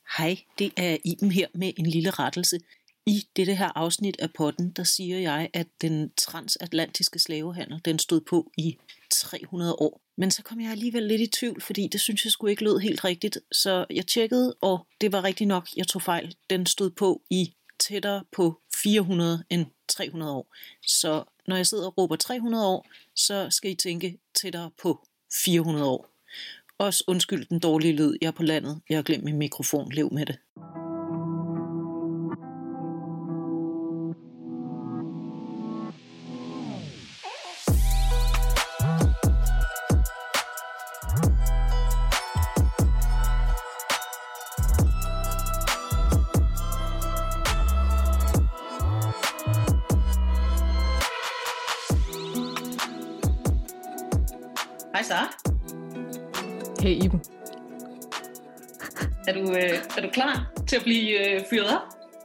Hej, det er Iben her med en lille rettelse. I dette her afsnit af podden, der siger jeg, at den transatlantiske slavehandel, den stod på i 300 år. Men så kom jeg alligevel lidt i tvivl, fordi det synes jeg sgu ikke lød helt rigtigt. Så jeg tjekkede, og det var rigtigt nok, jeg tog fejl. Den stod på i tættere på 400 end 300 år. Så når jeg sidder og råber 300 år, så skal I tænke tættere på 400 år. Også undskyld den dårlige lyd, jeg er på landet. Jeg har glemt min mikrofon, lev med det. Hej Sara. Hey Iben. Er du klar til at blive fyret op?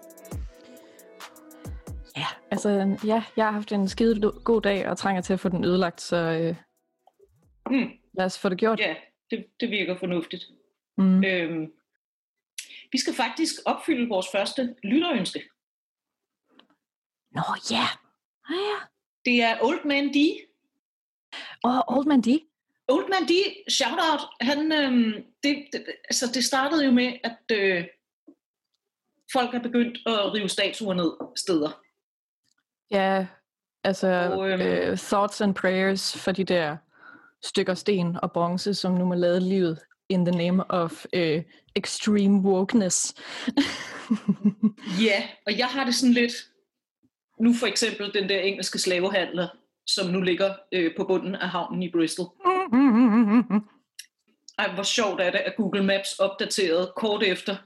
Ja, altså jeg har haft en skide god dag og trænger til at få den ødelagt, så lad os få det gjort. Ja, det virker fornuftigt. Mm. Vi skal faktisk opfylde vores første lytterønske. Nå ja. Ja. Det er Old Man D. Old Man D. Old Man D, shout out, han, det startede jo med, at folk er begyndt at rive statuer ned steder. Ja, altså thoughts and prayers for de der stykker sten og bronze, som nu må lade livet in the name of extreme wokeness. Ja, og jeg har det sådan lidt, nu for eksempel den der engelske slavehandler, som nu ligger på bunden af havnen i Bristol. Ej, hvor sjovt er det, at Google Maps opdaterede kort efter.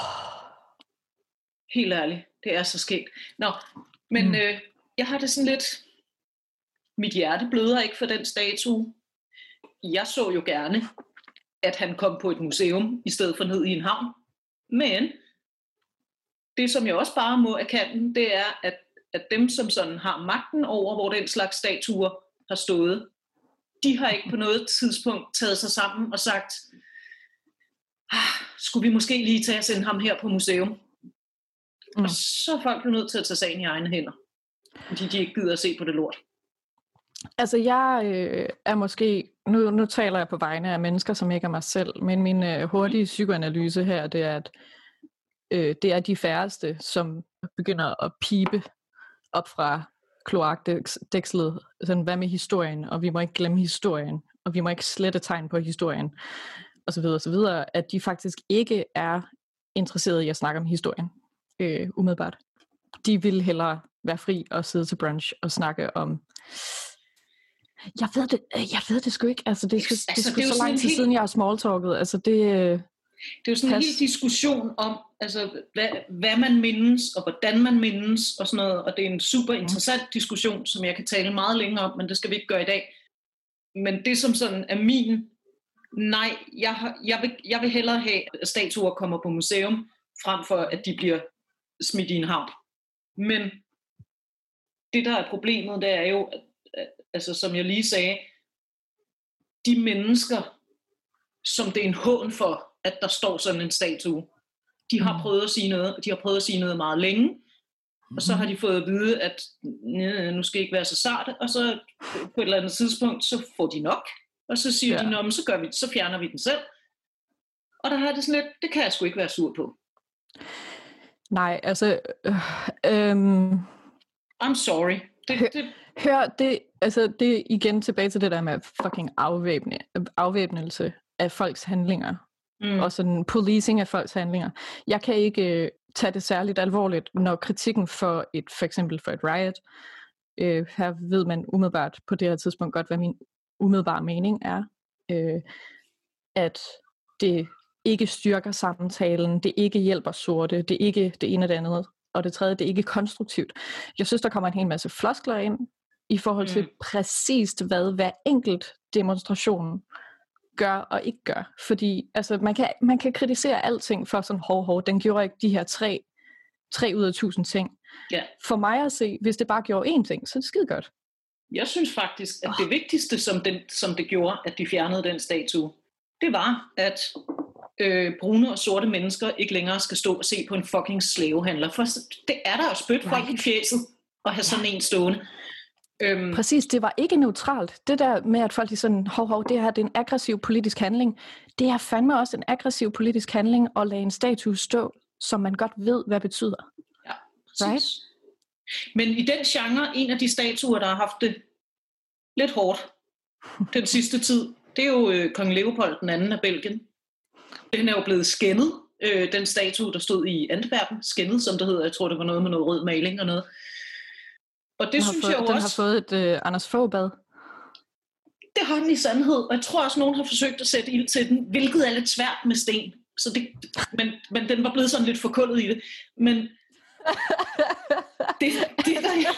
Helt ærligt, det er så skægt. Nå, men jeg har det sådan lidt, mit hjerte bløder ikke for den statue. Jeg så jo gerne, at han kom på et museum, i stedet for ned i en havn. Men det, som jeg også bare må erkende, det er, at dem, som sådan har magten over, hvor den slags statuer har stået, de har ikke på noget tidspunkt taget sig sammen og sagt, skulle vi måske lige tage og sende ham her på museum? Og så er folk jo nødt til at tage sagen i egne hænder, fordi de ikke gider at se på det lort. Altså jeg er måske, nu taler jeg på vegne af mennesker, som ikke er mig selv, men min hurtige psykoanalyse her, det er, at det er de færreste, som begynder at pipe op fra kloakdækslet, sådan, hvad med historien, og vi må ikke glemme historien, og vi må ikke slette tegn på historien, og så videre, at de faktisk ikke er interesserede i at snakke om historien, umiddelbart. De vil hellere være fri og sidde til brunch og snakke om, jeg ved det sgu ikke, altså det er sgu så lang tid siden, jeg har smalltalket, altså det er jo sådan en hel diskussion om, altså, hvad man mindes, og hvordan man mindes, og sådan noget, og det er en super interessant diskussion, som jeg kan tale meget længere om, men det skal vi ikke gøre i dag. Men det som sådan er min, nej, jeg vil hellere have, at statuer kommer på museum, frem for at de bliver smidt i en havn. Men det der er problemet, det er jo, at, altså som jeg lige sagde, de mennesker, som det er en hån for, at der står sådan en statue. De har prøvet at sige noget, og de har prøvet at sige noget meget længe, og så har de fået at vide, at nu skal I ikke være så sarte, og så på et eller andet tidspunkt, så får de nok, og så siger de, men så fjerner vi den selv. Og der har det sådan lidt, det kan jeg sgu ikke være sur på. Nej, altså I'm sorry. Hør, det er igen tilbage til det der med fucking afvæbnelse af folks handlinger. Og sådan policing af folks handlinger. Jeg kan ikke tage det særligt alvorligt, når kritikken for eksempel for et riot, her ved man umiddelbart på det her tidspunkt godt, hvad min umiddelbare mening er, at det ikke styrker samtalen, det ikke hjælper sorte, det er ikke det ene og det andet, og det tredje, det er ikke konstruktivt. Jeg synes, der kommer en hel masse floskler ind, i forhold til præcist, hvad hver enkelt demonstration gør og ikke gør. Fordi altså, man kan kritisere alting for sådan, den gjorde ikke de her 3 ud af 1000 ting. Ja. For mig at se, hvis det bare gjorde én ting, så er det skide godt. Jeg synes faktisk, at det vigtigste, som det gjorde, at de fjernede den statue, det var, at brune og sorte mennesker ikke længere skal stå og se på en fucking slavehandler. For det er der jo spyt folk i fjeset at have sådan en stående. Præcis, det var ikke neutralt. Det der med, at folk er sådan, det her det er en aggressiv politisk handling. Det er fandme også en aggressiv politisk handling at lade en statue stå, som man godt ved, hvad betyder. Ja, præcis. Right? Men i den genre, en af de statuer, der har haft det lidt hårdt den sidste tid, det er jo Kong Leopold den anden af Belgien. Den er jo blevet skændet, den statue, der stod i Antwerpen, skændet, som det hedder. Jeg tror, det var noget med noget rød maling og noget. Og det synes jeg jo også... Den har fået et Anders Fogh-bad. Det har den i sandhed, og jeg tror også, nogen har forsøgt at sætte ild til den, hvilket er lidt svært med sten. Så men den var blevet sådan lidt forkullet i det. Men det der...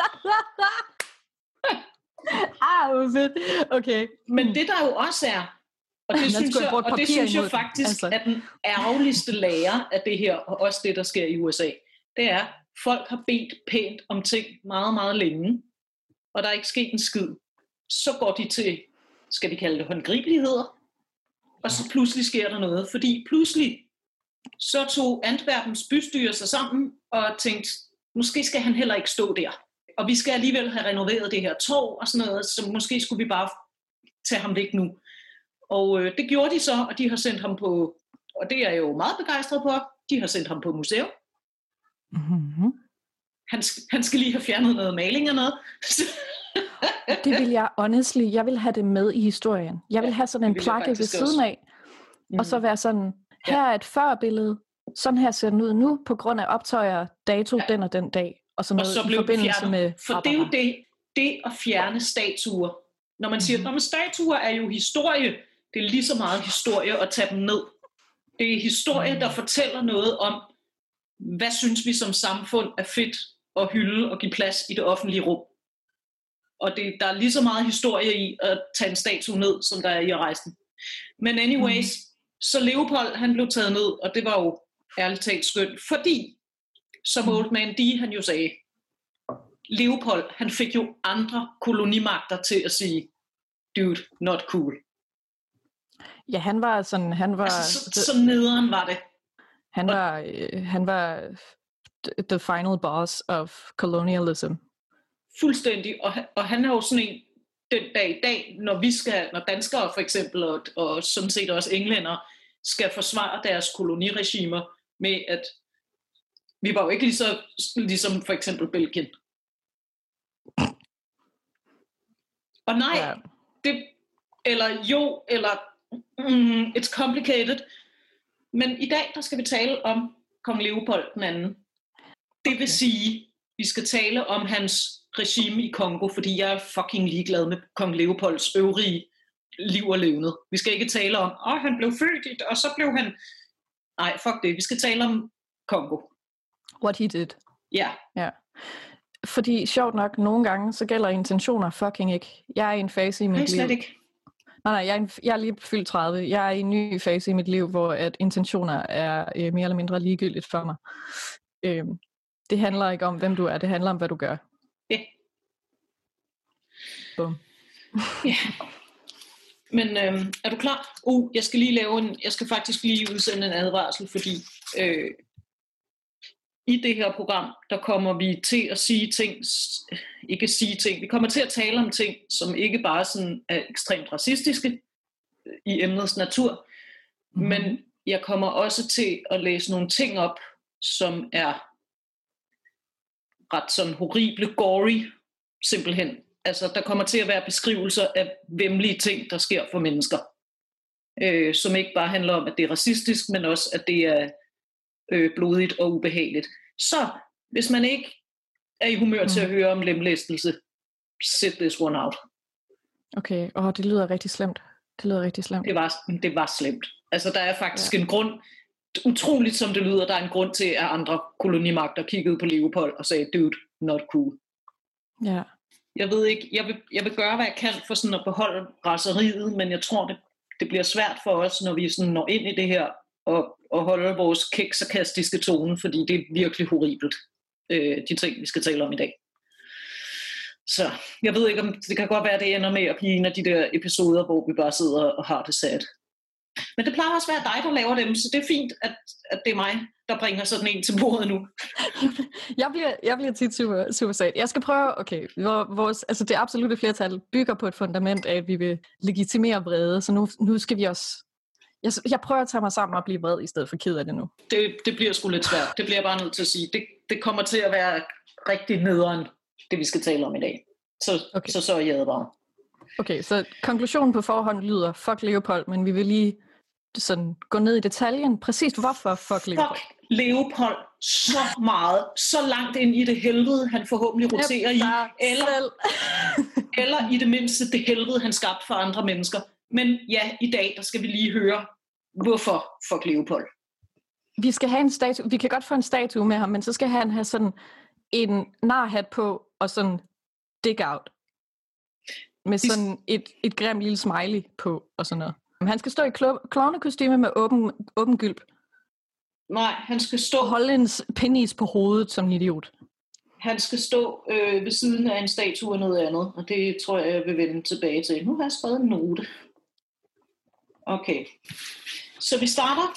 hvor fedt. Okay. Men det der jo også er, og det synes jeg faktisk er den ærgerligste lære af det her, og også det, der sker i USA, det er, folk har bedt pænt om ting meget, meget længe, og der er ikke sket en skid. Så går de til, skal vi kalde det håndgribeligheder, og så pludselig sker der noget, fordi pludselig så tog Antwerpens bystyre sig sammen og tænkte, måske skal han heller ikke stå der. Og vi skal alligevel have renoveret det her torv og sådan noget, så måske skulle vi bare tage ham væk nu. Og det gjorde de så, og de har sendt ham på, og det er jeg jo meget begejstret på, de har sendt ham på museum. Mm-hmm. Han skal lige have fjernet noget maling og noget. Det vil jeg vil have det med i historien. Jeg vil have sådan en plakke ved siden af, og så være sådan, her er et førbillede, sådan her ser den ud nu, på grund af optøjer, dato, den og den dag, og sådan noget i forbindelse med... For det er jo det at fjerne statuer. Når man siger, at statuer er jo historie, det er lige så meget historie at tage dem ned. Det er historie, der fortæller noget om, hvad synes vi som samfund er fedt at hylde og give plads i det offentlige rum. Og der er lige så meget historie i at tage en statue ned, som der er i at rejse den. Men anyways, så Leopold, han blev taget ned, og det var jo ærligt talt skønt, fordi, som Old Man D, han jo sagde, Leopold, han fik jo andre kolonimagter til at sige, dude, not cool. Ja, han var sådan, så nederen var det. Han var the final boss of colonialism. Fuldstændig, og han er jo sådan en, den dag i dag, når danskere for eksempel, og sådan set også englænder, skal forsvare deres koloniregimer med, at vi var jo ikke ligesom for eksempel Belgien. Og nej, it's complicated. Men i dag, der skal vi tale om Kong Leopold den anden. Det vil sige, vi skal tale om hans regime i Kongo, fordi jeg er fucking ligeglad med Kong Leopolds øvrige liv og levnet. Vi skal ikke tale om, han blev født, og så blev han... Nej, fuck det. Vi skal tale om Kongo. What he did. Ja. Ja. Fordi sjovt nok, nogle gange, så gælder intentioner fucking ikke. Jeg er i en fase i mit liv... slet ikke. Nej, jeg er lige fyldt 30. Jeg er i en ny fase i mit liv, hvor at intentioner er mere eller mindre ligegyldigt for mig. Det handler ikke om, hvem du er. Det handler om, hvad du gør. Ja. Bum. Ja. Men er du klar? Jeg skal faktisk lige udsende en advarsel, fordi i det her program, der kommer vi til at vi kommer til at tale om ting, som ikke bare sådan er ekstremt racistiske i emnets natur, men jeg kommer også til at læse nogle ting op, som er ret sådan horrible, gory, simpelthen. Altså, der kommer til at være beskrivelser af væmmelige ting, der sker for mennesker, som ikke bare handler om, at det er racistisk, men også, at det er blodigt og ubehageligt. Så, hvis man ikke er i humør til at høre om lemlæstelse, sit this one out. Okay, det lyder rigtig slemt. Det var slemt. Altså, der er faktisk en grund, utroligt som det lyder, der er en grund til, at andre kolonimagter kiggede på Leopold og sagde, dude, not cool. Ja. Jeg ved ikke, jeg vil gøre, hvad jeg kan for sådan at beholde raseriet, men jeg tror, det bliver svært for os, når vi sådan når ind i det her, og holde vores kæksarkastiske tone, fordi det er virkelig horribelt, de ting, vi skal tale om i dag. Så jeg ved ikke, om det kan godt være, det ender med at blive en af de der episoder, hvor vi bare sidder og har det sad. Men det plejer også at være dig, der laver dem, så det er fint, at det er mig, der bringer sådan en til bordet nu. jeg bliver tit super, super sat. Jeg skal prøve, okay, altså det absolutte flertal bygger på et fundament af, at vi vil legitimere vrede, så nu skal vi også... Jeg prøver at tage mig sammen og blive vred, i stedet for ked af det nu. Det bliver sgu lidt svært, det bliver jeg bare nødt til at sige. Det kommer til at være rigtig nederen, det vi skal tale om i dag. Så er jeg bare. Okay, så konklusionen på forhånd lyder, fuck Leopold, men vi vil lige sådan gå ned i detaljen. Præcis hvorfor fuck Leopold? Fuck Leopold så meget, så langt ind i det helvede, han forhåbentlig roterer i, eller i det mindste det helvede, han skabte for andre mennesker. Men ja, i dag, der skal vi lige høre, hvorfor fuck Leopold. Vi skal have en statue. Vi kan godt få en statue med ham, men så skal han have sådan en narhat på, og sådan dig out. Med sådan et grim lille smiley på, og sådan noget. Han skal stå i klovnekostyme med åben gylp. Nej, han skal stå... Og holde en penis på hovedet som en idiot. Han skal stå ved siden af en statue og noget andet, og det tror jeg vil vende tilbage til. Nu har jeg skrevet en note. Okay. Så vi starter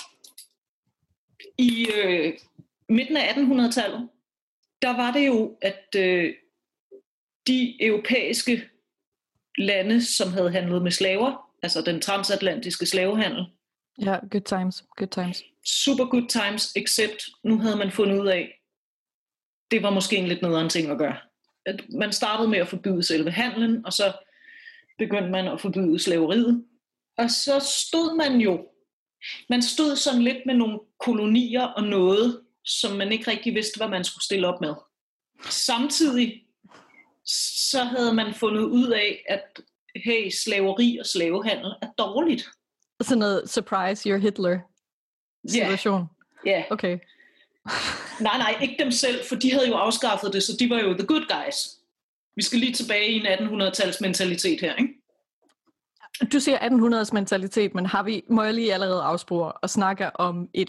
i midten af 1800-tallet. Der var det jo, at de europæiske lande, som havde handlet med slaver, altså den transatlantiske slavehandel. Ja, good times. Super good times, except nu havde man fundet ud af, det var måske en lidt nederen ting at gøre. At man startede med at forbyde selve handlen, og så begyndte man at forbyde slaveriet. Og så stod man stod sådan lidt med nogle kolonier og noget, som man ikke rigtig vidste, hvad man skulle stille op med. Samtidig så havde man fundet ud af, at hey, slaveri og slavehandel er dårligt. Sådan noget surprise, you're Hitler situation. Ja. Yeah. Okay. Nej, ikke dem selv, for de havde jo afskaffet det, så de var jo the good guys. Vi skal lige tilbage i en 1800-tals mentalitet her, ikke? Du siger 1800's mentalitet, men må jeg lige allerede afspore og snakke om en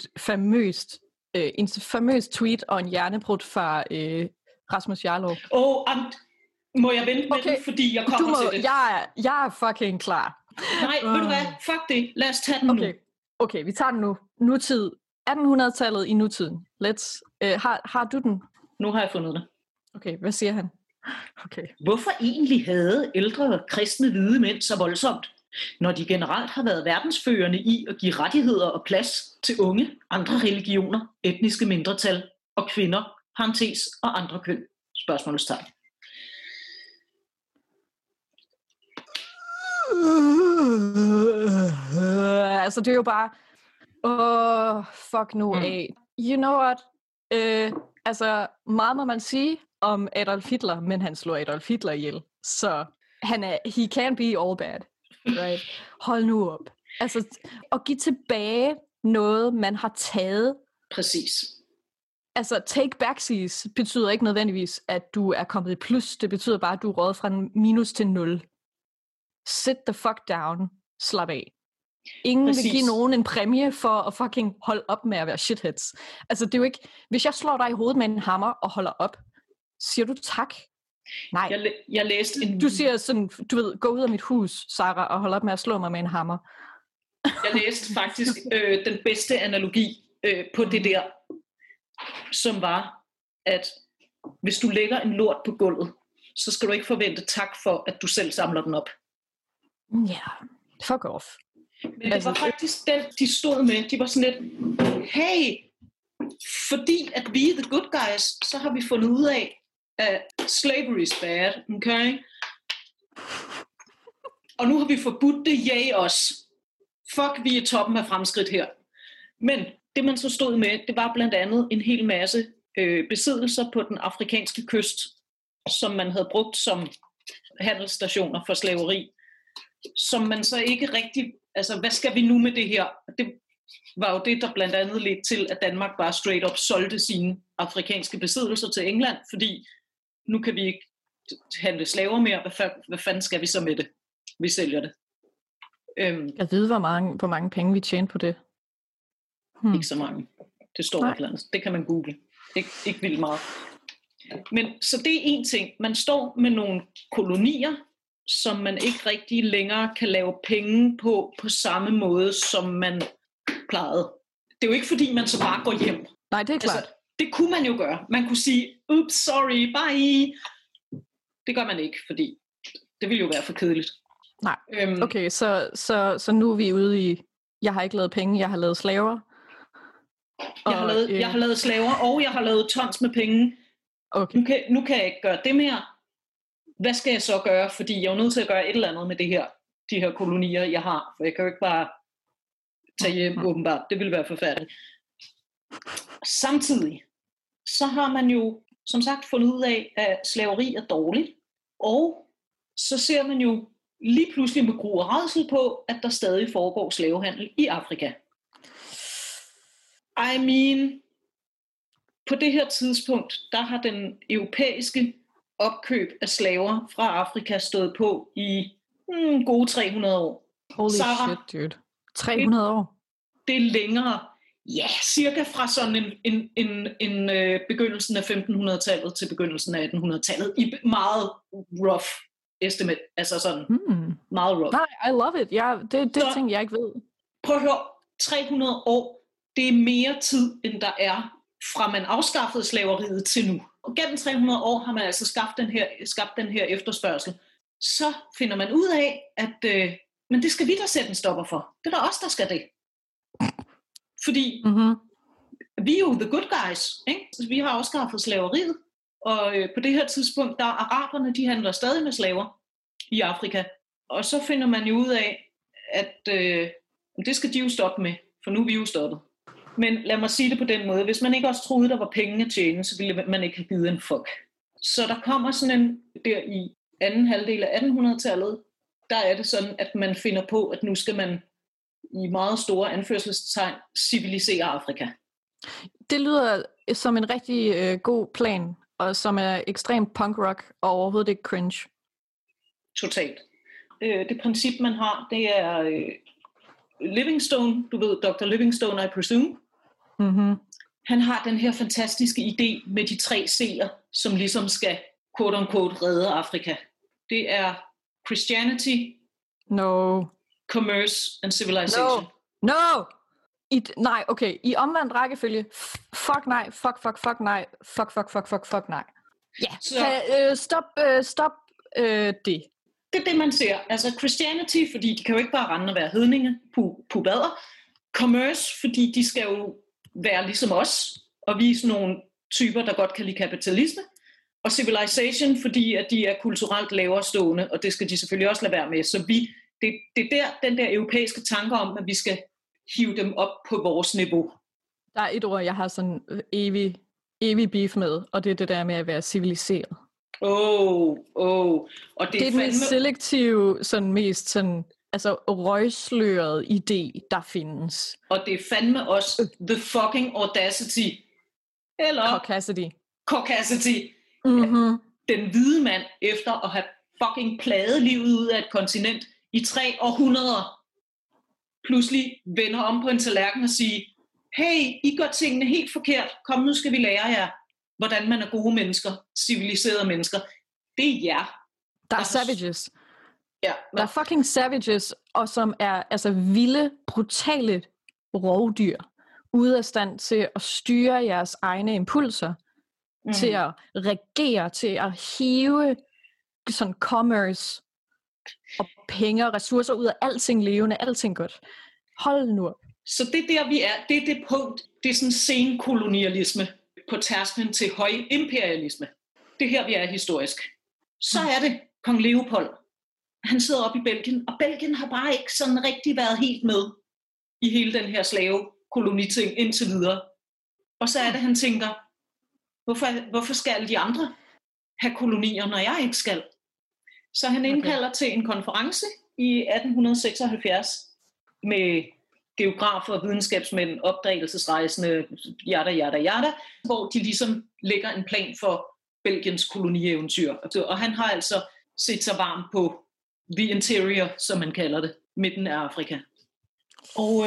famøs tweet og en hjernebrud fra Rasmus Jarlov. Må jeg vente med den, fordi jeg kommer til det? Jeg er fucking klar. Nej, ved du hvad? Fuck det. Lad os tage den nu. Okay, vi tager den nu. Nutid. 1800-tallet i nutiden. Har du den? Nu har jeg fundet det. Okay, hvad siger han? Okay. Hvorfor egentlig havde ældre kristne hvide mænd så voldsomt, når de generelt har været verdensførende i at give rettigheder og plads til unge, andre religioner, etniske mindretal og kvinder, parentes og andre køn? Spørgsmålstegn. Altså det er jo bare fuck nu af. You know what? Altså meget må man sige om Adolf Hitler, men han slår Adolf Hitler ihjel. Så he can't be all bad. Right? Hold nu op. Altså at give tilbage noget, man har taget. Præcis. Altså take backsies betyder ikke nødvendigvis, at du er kommet i plus. Det betyder bare, at du er røget fra en minus til 0. Sit the fuck down. Slap af. Ingen vil give nogen en præmie for at fucking holde op med at være shitheads. Altså det er jo ikke... Hvis jeg slår dig i hovedet med en hammer og holder op, siger du tak? Nej. Jeg læste en... Du siger sådan, du ved, gå ud af mit hus, Sarah, og hold op med at slå mig med en hammer. Jeg læste faktisk den bedste analogi på det der, som var, at hvis du lægger en lort på gulvet, så skal du ikke forvente tak for, at du selv samler den op. Ja, fuck off. Men det var faktisk den, de stod med. De var sådan lidt, hey, fordi at vi er the good guys, så har vi fundet ud af, at slavery is bad, okay? Og nu har vi forbudt det, yay os. Fuck, vi er toppen af fremskridt her. Men det man så stod med, det var blandt andet en hel masse besiddelser på den afrikanske kyst, som man havde brugt som handelsstationer for slaveri, som man så ikke rigtig, altså hvad skal vi nu med det her? Det var jo det, der blandt andet ledte til, at Danmark bare straight up solgte sine afrikanske besiddelser til England, fordi nu kan vi ikke handle slaver mere, hvad fanden skal vi så med det? Vi sælger det. Jeg ved, hvor mange penge vi tjente på det. Ikke så mange. Det står et eller andet. Det kan man google. Ikke vildt meget. Men så det er en ting. Man står med nogle kolonier, som man ikke rigtig længere kan lave penge på samme måde, som man plejede. Det er jo ikke fordi, man så bare går hjem. Nej, det er klart. Altså, det kunne man jo gøre. Man kunne sige, oops, sorry, bye. Det gør man ikke, fordi det ville jo være for kedeligt. Nej, okay, så nu er vi ude i, jeg har ikke lavet penge, jeg har lavet slaver. Jeg har lavet slaver, og jeg har lavet tons med penge. Okay. Nu kan jeg ikke gøre det mere. Hvad skal jeg så gøre? Fordi jeg er nødt til at gøre et eller andet med de her kolonier, jeg har. For jeg kan jo ikke bare tage hjem, åbenbart. Det ville være forfærdeligt. Samtidig, så har man jo, som sagt, fundet ud af, at slaveri er dårligt. Og så ser man jo lige pludselig med gru og rædsel på, at der stadig foregår slavehandel i Afrika. I mean, på det her tidspunkt, der har den europæiske opkøb af slaver fra Afrika stået på i gode 300 år. Holy shit, dude. 300 år? Det er længere. Ja, cirka fra sådan en begyndelsen af 1500-tallet til begyndelsen af 1800-tallet. I meget rough estimate. Altså sådan meget rough. Nej, I love it. Ja, det er ting, jeg ikke ved. Prøv at høre, 300 år, det er mere tid, end der er fra man afskaffede slaveriet til nu. Og gennem 300 år har man altså skabt den her efterspørgsel. Så finder man ud af, at men det skal vi da sætte en stopper for. Det er da os, der skal det. Fordi vi er jo the good guys. Ikke? Vi har afskaffet slaveriet. Og på det her tidspunkt, der araberne, de handler stadig med slaver i Afrika. Og så finder man jo ud af, at det skal de jo stoppe med. For nu er vi jo stoppet. Men lad mig sige det på den måde. Hvis man ikke også troede, der var penge at tjene, så ville man ikke have givet en fuck. Så der kommer sådan en, der i anden halvdel af 1800-tallet, der er det sådan, at man finder på, at nu skal man i meget store anførselstegn civilisere Afrika. Det lyder som en rigtig god plan, og som er ekstremt punk rock og overhovedet ikke cringe. Totalt. Det princip, man har, det er Livingstone, du ved, Dr. Livingstone, I presume. Han har den her fantastiske idé med de 3 C'er, som ligesom skal, quote-unquote, redde Afrika. Det er Christianity, commerce and civilization. No! Nej, okay. I omvendt rækkefølge. Fuck nej, fuck nej, fuck nej. Ja, stop det. Det er det, man ser. Altså Christianity, fordi de kan jo ikke bare rende og være hedninge, pubader. Commerce, fordi de skal jo være ligesom os, og vise nogle typer, der godt kan lide kapitalisme. Og civilization, fordi at de er kulturelt lavere stående, og det skal de selvfølgelig også lade være med. Så det er der, den der europæiske tanke om, at vi skal hive dem op på vores niveau. Der er et ord, jeg har sådan evig beef med, og det er det der med at være civiliseret. Og det er den selektive, sådan mest sådan, altså røgsløret idé, der findes. Og det er fandme også the fucking audacity. Eller Caucasity. Den hvide mand, efter at have fucking plaget livet ud af et kontinent i 3 århundreder, pludselig vender om på en tallerken og siger, hey, I gør tingene helt forkert, kom nu skal vi lære jer, hvordan man er gode mennesker, civiliserede mennesker. Det er jer. Der er savages. Ja, der er fucking savages, og som er altså vilde, brutale rovdyr, ude af stand til at styre jeres egne impulser, til at regere, til at hive sådan commerce og penge og ressourcer ud af alting levende, alting godt. Hold nu op. Så det er der, vi er. Det er det punkt. Det er sådan senkolonialisme på tærsklen til højimperialisme. Det er her, vi er historisk. Så er det kong Leopold. Han sidder oppe i Belgien, og Belgien har bare ikke sådan rigtig været helt med i hele den her slavekoloniting indtil videre. Og så er det, han tænker, hvorfor skal alle de andre have kolonier, når jeg ikke skal? Så han indkalder til en konference i 1876 med geografer, videnskabsmænd, opdagelsesrejsende, yada, hvor de ligesom lægger en plan for Belgiens koloniaeventyr. Og han har altså set sig varm på the interior, som man kalder det, midten af Afrika. Og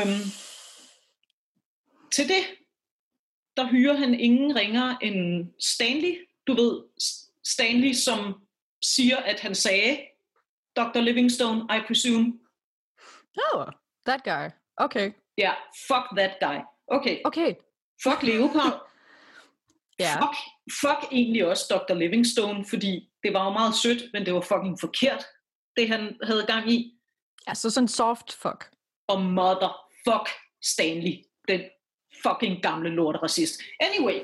til det, der hyrer han ingen ringere end Stanley. Du ved, Stanley, som siger, at han sagde, Dr. Livingstone, I presume. Oh, that guy. Okay. Ja, yeah, fuck that guy. Okay. Fuck Leopold. Yeah. Fuck egentlig også Dr. Livingstone, fordi det var jo meget sødt, men det var fucking forkert, det han havde gang i. Ja, så sådan soft fuck. Og motherfuck Stanley, den fucking gamle lorteracist. Anyway.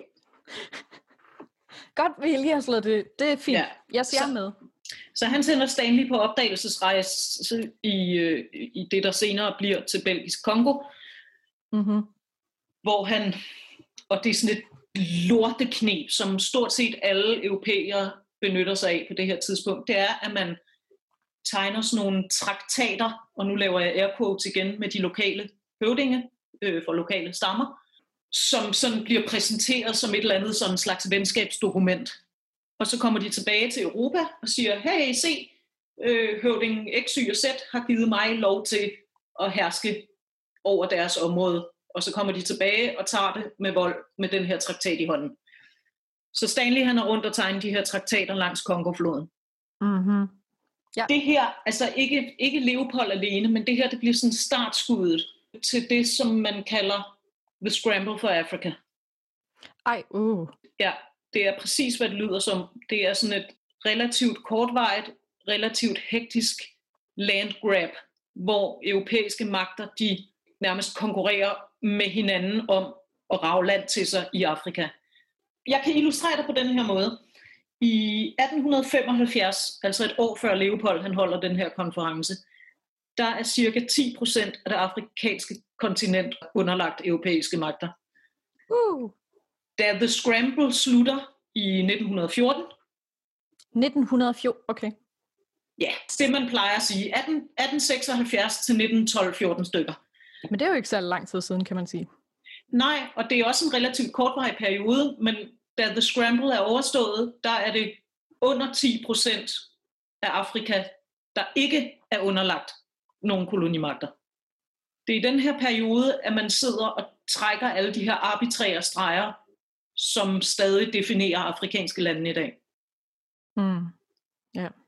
Godt, vi lige har slået det. Det er fint. Ja. Jeg ser med. Så han sender Stanley på opdagelsesrejse i det, der senere bliver til Belgisk Kongo. Mm-hmm. Hvor han, og det er sådan et lortekneb, som stort set alle europæere benytter sig af på det her tidspunkt, det er, at man tegner sådan nogle traktater, og nu laver jeg air quotes igen med de lokale høvdinge for lokale stammer, som sådan bliver præsenteret som et eller andet sådan slags venskabsdokument. Og så kommer de tilbage til Europa og siger, hey, se, høvdingen X, Y og Z har givet mig lov til at herske over deres område. Og så kommer de tilbage og tager det med vold med den her traktat i hånden. Så Stanley han er rundt og tegner de her traktater langs Kongofloden. Mm-hmm. Ja. Det her, altså ikke Leopold alene, men det her det bliver sådan startskuddet til det, som man kalder The Scramble for Africa. Ja, det er præcis, hvad det lyder som. Det er sådan et relativt kortvarigt, relativt hektisk landgrab, hvor europæiske magter, de nærmest konkurrerer med hinanden om at rage land til sig i Afrika. Jeg kan illustrere det på den her måde. I 1875, altså et år før Leopold han holder den her konference, der er cirka 10% af det afrikanske kontinent underlagt europæiske magter. Da The Scramble slutter i 1914. 1914, okay. Ja, det man plejer at sige. 1876 til 1912-14 stykker. Men det er jo ikke så lang tid siden, kan man sige. Nej, og det er også en relativt kortvarig periode, men da The Scramble er overstået, der er det under 10% af Afrika, der ikke er underlagt nogle kolonimagter. Det er i den her periode, at man sidder og trækker alle de her arbitrære streger, som stadig definerer afrikanske lande i dag. Ja.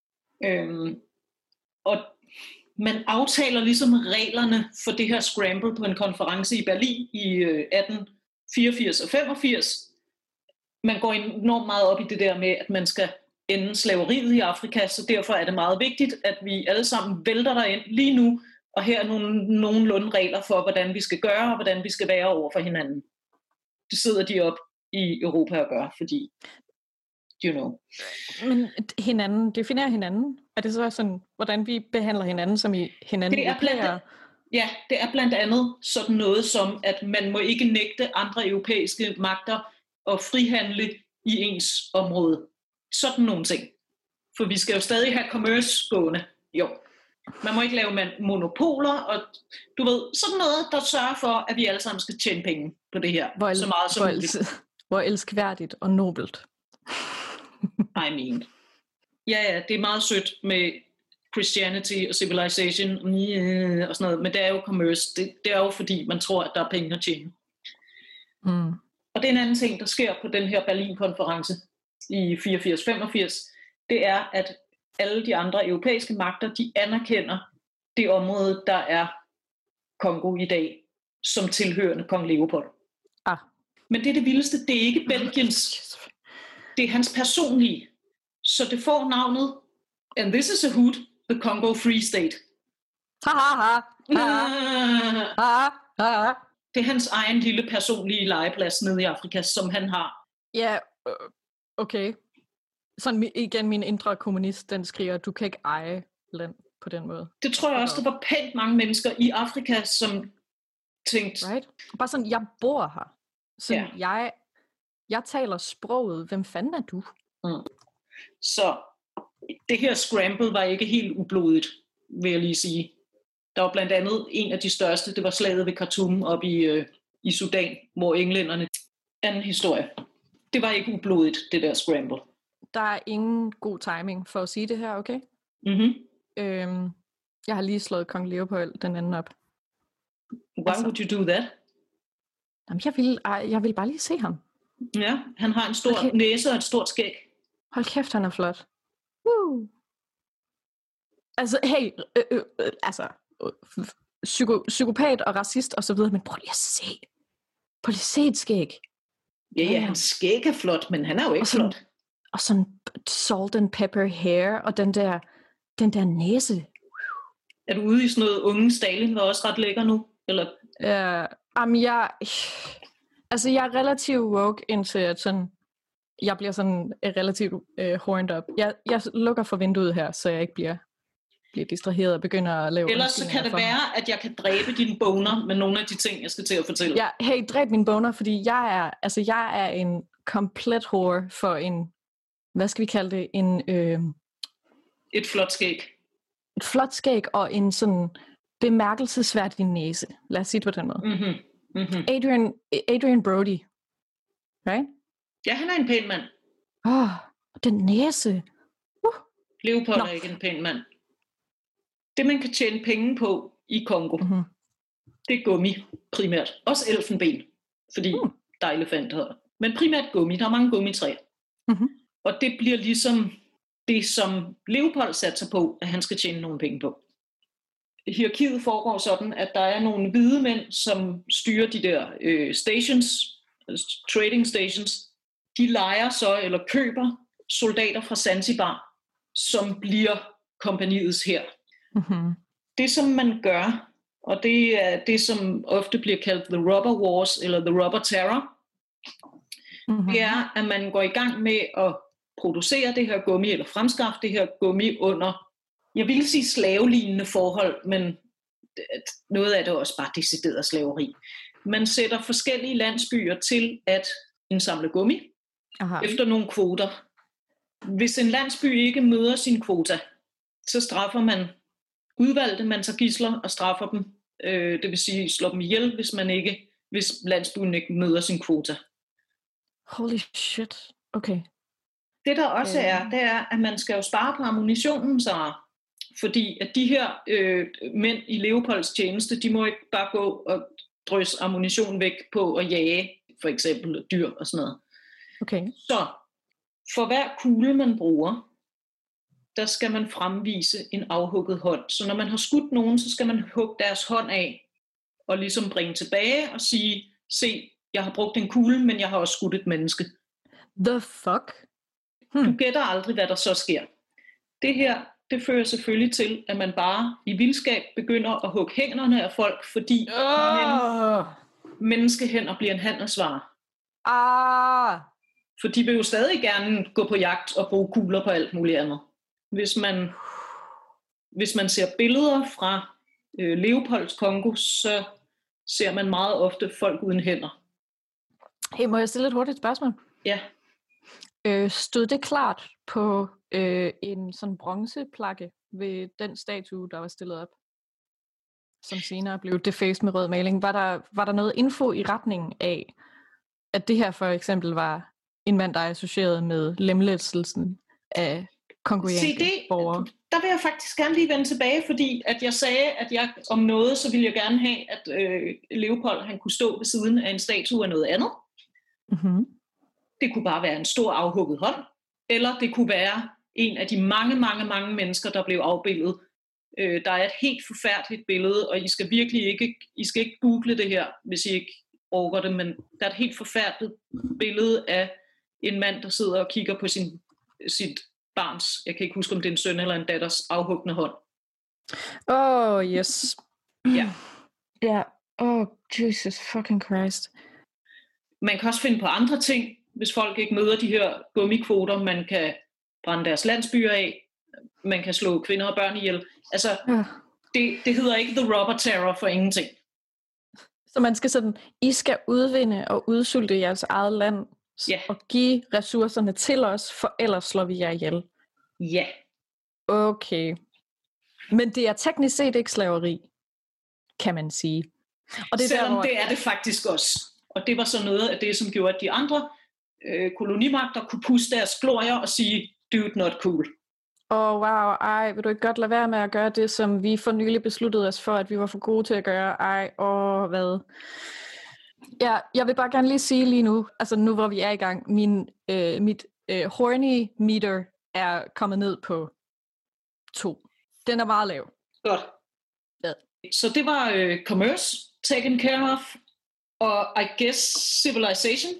Og man aftaler ligesom reglerne for det her scramble på en konference i Berlin i 1884 og 85. Man går enormt meget op i det der med, at man skal ende slaveriet i Afrika, så derfor er det meget vigtigt, at vi alle sammen vælter derind lige nu, og her er nogenlunde regler for, hvordan vi skal gøre, og hvordan vi skal være over for hinanden. Det sidder de op i Europa og gør, fordi, you know. Men hinanden, definerer hinanden? Er det så sådan, hvordan vi behandler hinanden, som i hinanden? Det er blandt andet sådan noget som, at man må ikke nægte andre europæiske magter at frihandle i ens område. Sådan nogle ting. For vi skal jo stadig have commerce gående. Jo. Man må ikke lave monopoler, og du ved, sådan noget, der sørger for, at vi alle sammen skal tjene penge på det her. Så meget som muligt. Hvor elskværdigt og nobelt. I mean. Ja, det er meget sødt med Christianity og civilization og sådan noget, men det er jo commerce. Det er jo fordi, man tror, at der er penge at tjene. Og det er en anden ting, der sker på den her Berlin-konference i 84-85, det er, at alle de andre europæiske magter, de anerkender det område, der er Kongo i dag, som tilhørende kong Leopold. Men det er det vildeste, det er ikke Belgiens, det er hans personlige. Så det får navnet, and this is a hoot, the Congo Free State. Det er hans egen lille personlige legeplads nede i Afrika, som han har. Ja, okay. Sådan igen, min indre kommunist, den skriger, du kan ikke eje land på den måde. Det tror jeg også, der var pænt mange mennesker i Afrika, som tænkte... Right? Bare sådan, jeg bor her. Så jeg taler sproget. Hvem fanden er du? Så det her scramble var ikke helt ublodigt, vil jeg lige sige. Der var blandt andet en af de største, det var slaget ved Khartoum oppe i Sudan, hvor englænderne... Anden historie. Det var ikke ublodigt, det der scramble. Der er ingen god timing for at sige det her, okay? Jeg har lige slået kong Leopold den anden op. Why would you do that? Jamen, jeg vil bare lige se ham. Ja, han har en stor næse og et stort skæg. Hold kæft, han er flot. Altså, hey, psykopat og racist og så videre, men prøv lige at se. Prøv lige at se et skæg. Ja, hans skæg er flot, men han er jo ikke flot. Og sådan salt and pepper hair, og den der næse. Er du ude i sådan noget unge Stalin, var også ret lækker nu? Eller? Jeg er relativt woke, indtil at sådan, jeg bliver sådan relativt horned up. Jeg lukker for vinduet her, så jeg ikke bliver distraheret og begynder at lave... Ellers så kan det være, at jeg kan dræbe dine boner med nogle af de ting, jeg skal til at fortælle. Ja, hey, dræb mine boner, fordi jeg er en komplet whore for en... Hvad skal vi kalde det? Et flot skæg. Et flot skæg og en sådan bemærkelsesværdig næse. Lad os sige det på den måde. Mm-hmm. Adrian Brody. Right? Ja, han er en pæn mand. Den næse. Leopold er ikke en pæn mand. Det, man kan tjene penge på i Kongo, det er gummi primært. Også elfenben, fordi der er elefanter. Men primært gummi. Der er mange gummitræer. Mm-hmm. Og det bliver ligesom det, som Leopold satser på, at han skal tjene nogle penge på. Hierarkiet foregår sådan, at der er nogle hvide mænd, som styrer de der stations, trading stations. De lejer så eller køber soldater fra Zanzibar, som bliver kompagniets hær. Mm-hmm. Det, som man gør, og det er det, som ofte bliver kaldt the rubber wars, eller the rubber terror, det er, at man går i gang med at producere det her gummi, eller fremskaffe det her gummi under, jeg vil sige slavelignende forhold, men noget af det er også bare decideret slaveri. Man sætter forskellige landsbyer til at indsamle gummi efter nogle kvoter. Hvis en landsby ikke møder sin kvota, så straffer man udvalgte, man tager gidsler og straffer dem. Det vil sige slår dem ihjel, hvis landsbyen ikke møder sin kvota. Holy shit. Okay. Det der også det er, at man skal jo spare på ammunitionen, så fordi at de her mænd i Leopolds tjeneste, de må ikke bare gå og drysse ammunition væk på at jage, for eksempel dyr og sådan noget. Okay. Så for hver kugle, man bruger, der skal man fremvise en afhugget hånd. Så når man har skudt nogen, så skal man hugge deres hånd af og ligesom bringe tilbage og sige, se, jeg har brugt en kugle, men jeg har også skudt et menneske. The fuck? Du gætter aldrig, hvad der så sker. Det her, det fører selvfølgelig til, at man bare i vildskab begynder at hugge hænderne af folk, fordi menneskehænder bliver en handelsvare. For de vil jo stadig gerne gå på jagt og bruge kugler på alt muligt andet. Hvis man ser billeder fra Leopolds Kongo, så ser man meget ofte folk uden hænder. Hey, må jeg stille et hurtigt spørgsmål? Ja. Stod det klart på en sådan bronzeplakke ved den statue, der var stillet op, som senere blev defaced med rød maling? Var der noget info i retningen af, at det her for eksempel var en mand, der er associeret med lemlæstelsen af kongolianske borgere? Der vil jeg faktisk gerne lige vende tilbage, fordi at jeg sagde, at jeg om noget, så ville jeg gerne have, at Leopold han kunne stå ved siden af en statue af noget andet. Mm-hmm. Det kunne bare være en stor afhugget hånd, eller det kunne være en af de mange mennesker, der blev afbildet. Der er et helt forfærdeligt billede, og I skal virkelig ikke google det her, hvis I ikke orker det, men der er et helt forfærdeligt billede af en mand, der sidder og kigger på sit barns, jeg kan ikke huske, om det er en søn eller en datters afhugne hånd. Yes. Ja. Jesus fucking Christ. Man kan også finde på andre ting, hvis folk ikke møder de her gummikvoter. Man kan brænde deres landsbyer af. Man kan slå kvinder og børn ihjel. Altså, det hedder ikke the rubber terror for ingenting. Så man skal sådan, I skal udvinde og udsulte jeres eget land, og give ressourcerne til os, for ellers slår vi jer ihjel. Ja. Okay. Men det er teknisk set ikke slaveri, kan man sige. Og det selvom der, hvor... det er det faktisk også. Og det var så noget af det, som gjorde, at de andre kolonimagter kunne puste deres glorier og sige, dude, not cool. Wow, vil du ikke godt lade være med at gøre det, som vi for nylig besluttede os for, at vi var for gode til at gøre? Hvad? Ja, jeg vil bare gerne lige sige lige nu, altså nu hvor vi er i gang, mit horny meter er kommet ned på 2. Den er meget lav. Godt. Ja. Så det var commerce, taken care of, og I guess civilization.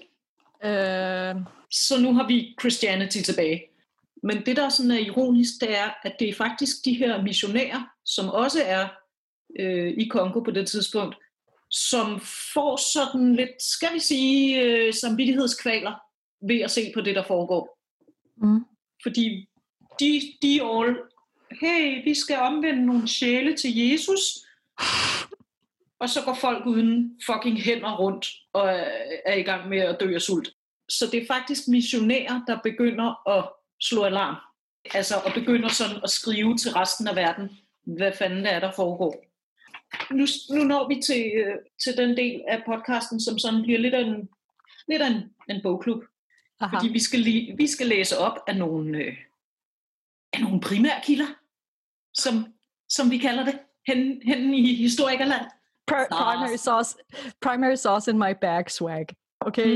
Så nu har vi Christianity tilbage. Men det, der sådan er ironisk, det er, at det er faktisk de her missionærer, som også er i Kongo på det tidspunkt, som får sådan lidt, skal vi sige, samvittighedskvaler ved at se på det, der foregår. Mm. Fordi de all, hey, vi skal omvende nogle sjæle til Jesus, og så går folk uden fucking hænder rundt og er i gang med at dø af sult. Så det er faktisk missionærer, der begynder at slå alarm. Altså, og begynder sådan at skrive til resten af verden, hvad fanden det er, der foregår. Nu når vi til den del af podcasten, som sådan bliver lidt af en bogklub. Aha. Fordi vi skal læse op af nogle primærkilder, som vi kalder det, hen i historikerland. Primary sauce in my bag swag. Okay?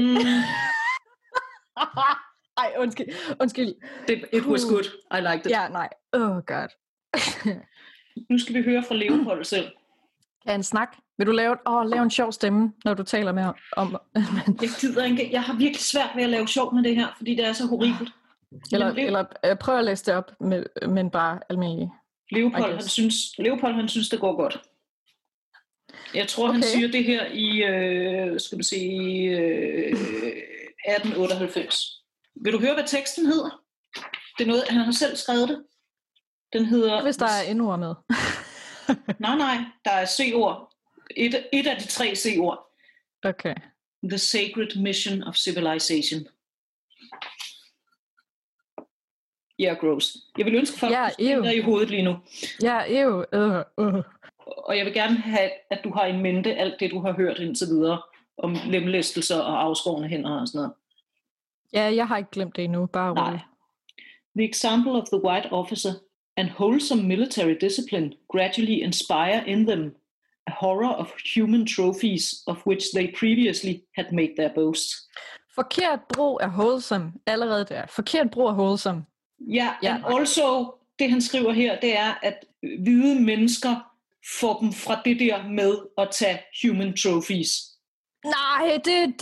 Ej, undskyld. It was good. I liked it. Ja, nej. Oh god. Nu skal vi høre fra Leopold selv. Kan en snak? Vil du lave en sjov stemme, når du taler med om... Jeg gider ikke. Jeg har virkelig svært ved at lave sjov med det her, fordi det er så horribelt. Eller prøv at læse det op, men bare almindelig. Leopold, han synes, det går godt. Jeg tror, han siger det her i, 1898. Vil du høre, hvad teksten hedder? Det er noget, han har selv skrevet det. Den hedder... Hvis der er endnu med. nej, der er C-ord. Et af de 3 C-ord. Okay. The Sacred Mission of Civilization. Gross. Jeg vil ønske folk, at du i hovedet lige nu. Og jeg vil gerne have, at du har i mente alt det, du har hørt indtil videre om lemlæstelser og afskårne hænder og sådan noget. Ja, jeg har ikke glemt det endnu. Bare roligt. The example of the white officer and wholesome military discipline gradually inspire in them a horror of human trophies of which they previously had made their boast. Forkert brug af wholesome allerede der. Forkert brug af wholesome. Ja, and also, det han skriver her, det er, at hvide mennesker får dem fra det der med at tage human trophies. Nej, det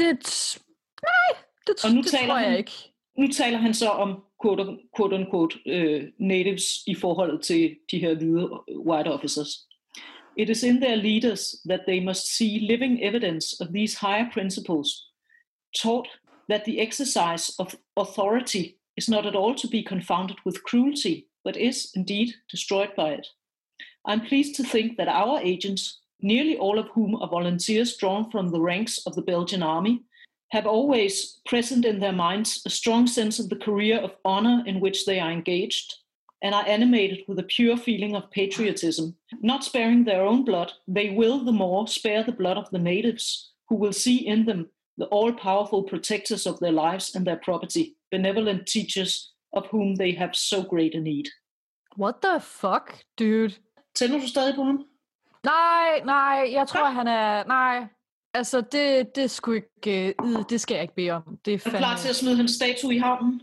tror jeg ikke. Nu taler han så om quote-unquote natives i forhold til de her hvide white officers. It is in their leaders that they must see living evidence of these higher principles, taught that the exercise of authority is not at all to be confounded with cruelty, but is indeed destroyed by it. I'm pleased to think that our agents, nearly all of whom are volunteers drawn from the ranks of the Belgian army, have always present in their minds a strong sense of the career of honor in which they are engaged, and are animated with a pure feeling of patriotism. Not sparing their own blood, they will the more spare the blood of the natives, who will see in them the all-powerful protectors of their lives and their property, benevolent teachers of whom they have so great a need. What the fuck, dude? Tænder du stadig på ham? Nej, jeg tror, han er... Nej, altså det skulle ikke... det skal jeg ikke bede om. Det er fandme... klar til at smide hans statue i havnen?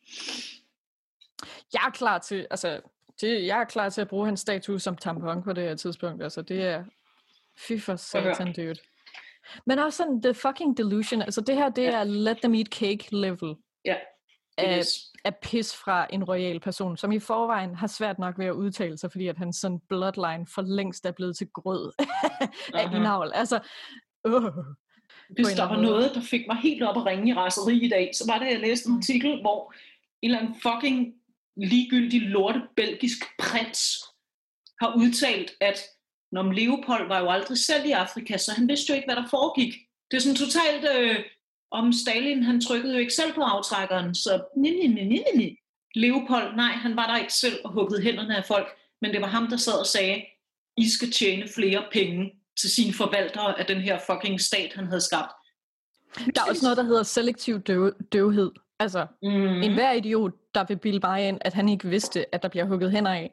Jeg er klar til... Altså, jeg er klar til at bruge hans statue som tampon på det her tidspunkt. Altså, det er... Fy for satan, dude. Men også sådan, the fucking delusion. Altså, det her, det er let them eat cake level. Ja. Af pis fra en royal person, som i forvejen har svært nok ved at udtale sig, fordi at hans sådan bloodline for længst er blevet til grød af indavl. Altså, hvis der var noget, der fik mig helt op at ringe i raseri i dag, så var det, at jeg læste en artikel, hvor en eller anden fucking ligegyldig lorte belgisk prins har udtalt, at når Leopold var jo aldrig selv i Afrika, så han vidste jo ikke, hvad der foregik. Det er sådan totalt... om Stalin, han trykkede jo ikke selv på aftrækkeren, så Leopold, nej, han var der ikke selv og huggede hænderne af folk, men det var ham, der sad og sagde, I skal tjene flere penge til sine forvaltere af den her fucking stat, han havde skabt. Der er også noget, der hedder selektiv døvhed. Altså, enhver idiot, der vil bilde mig ind, at han ikke vidste, at der bliver hugget hænder af.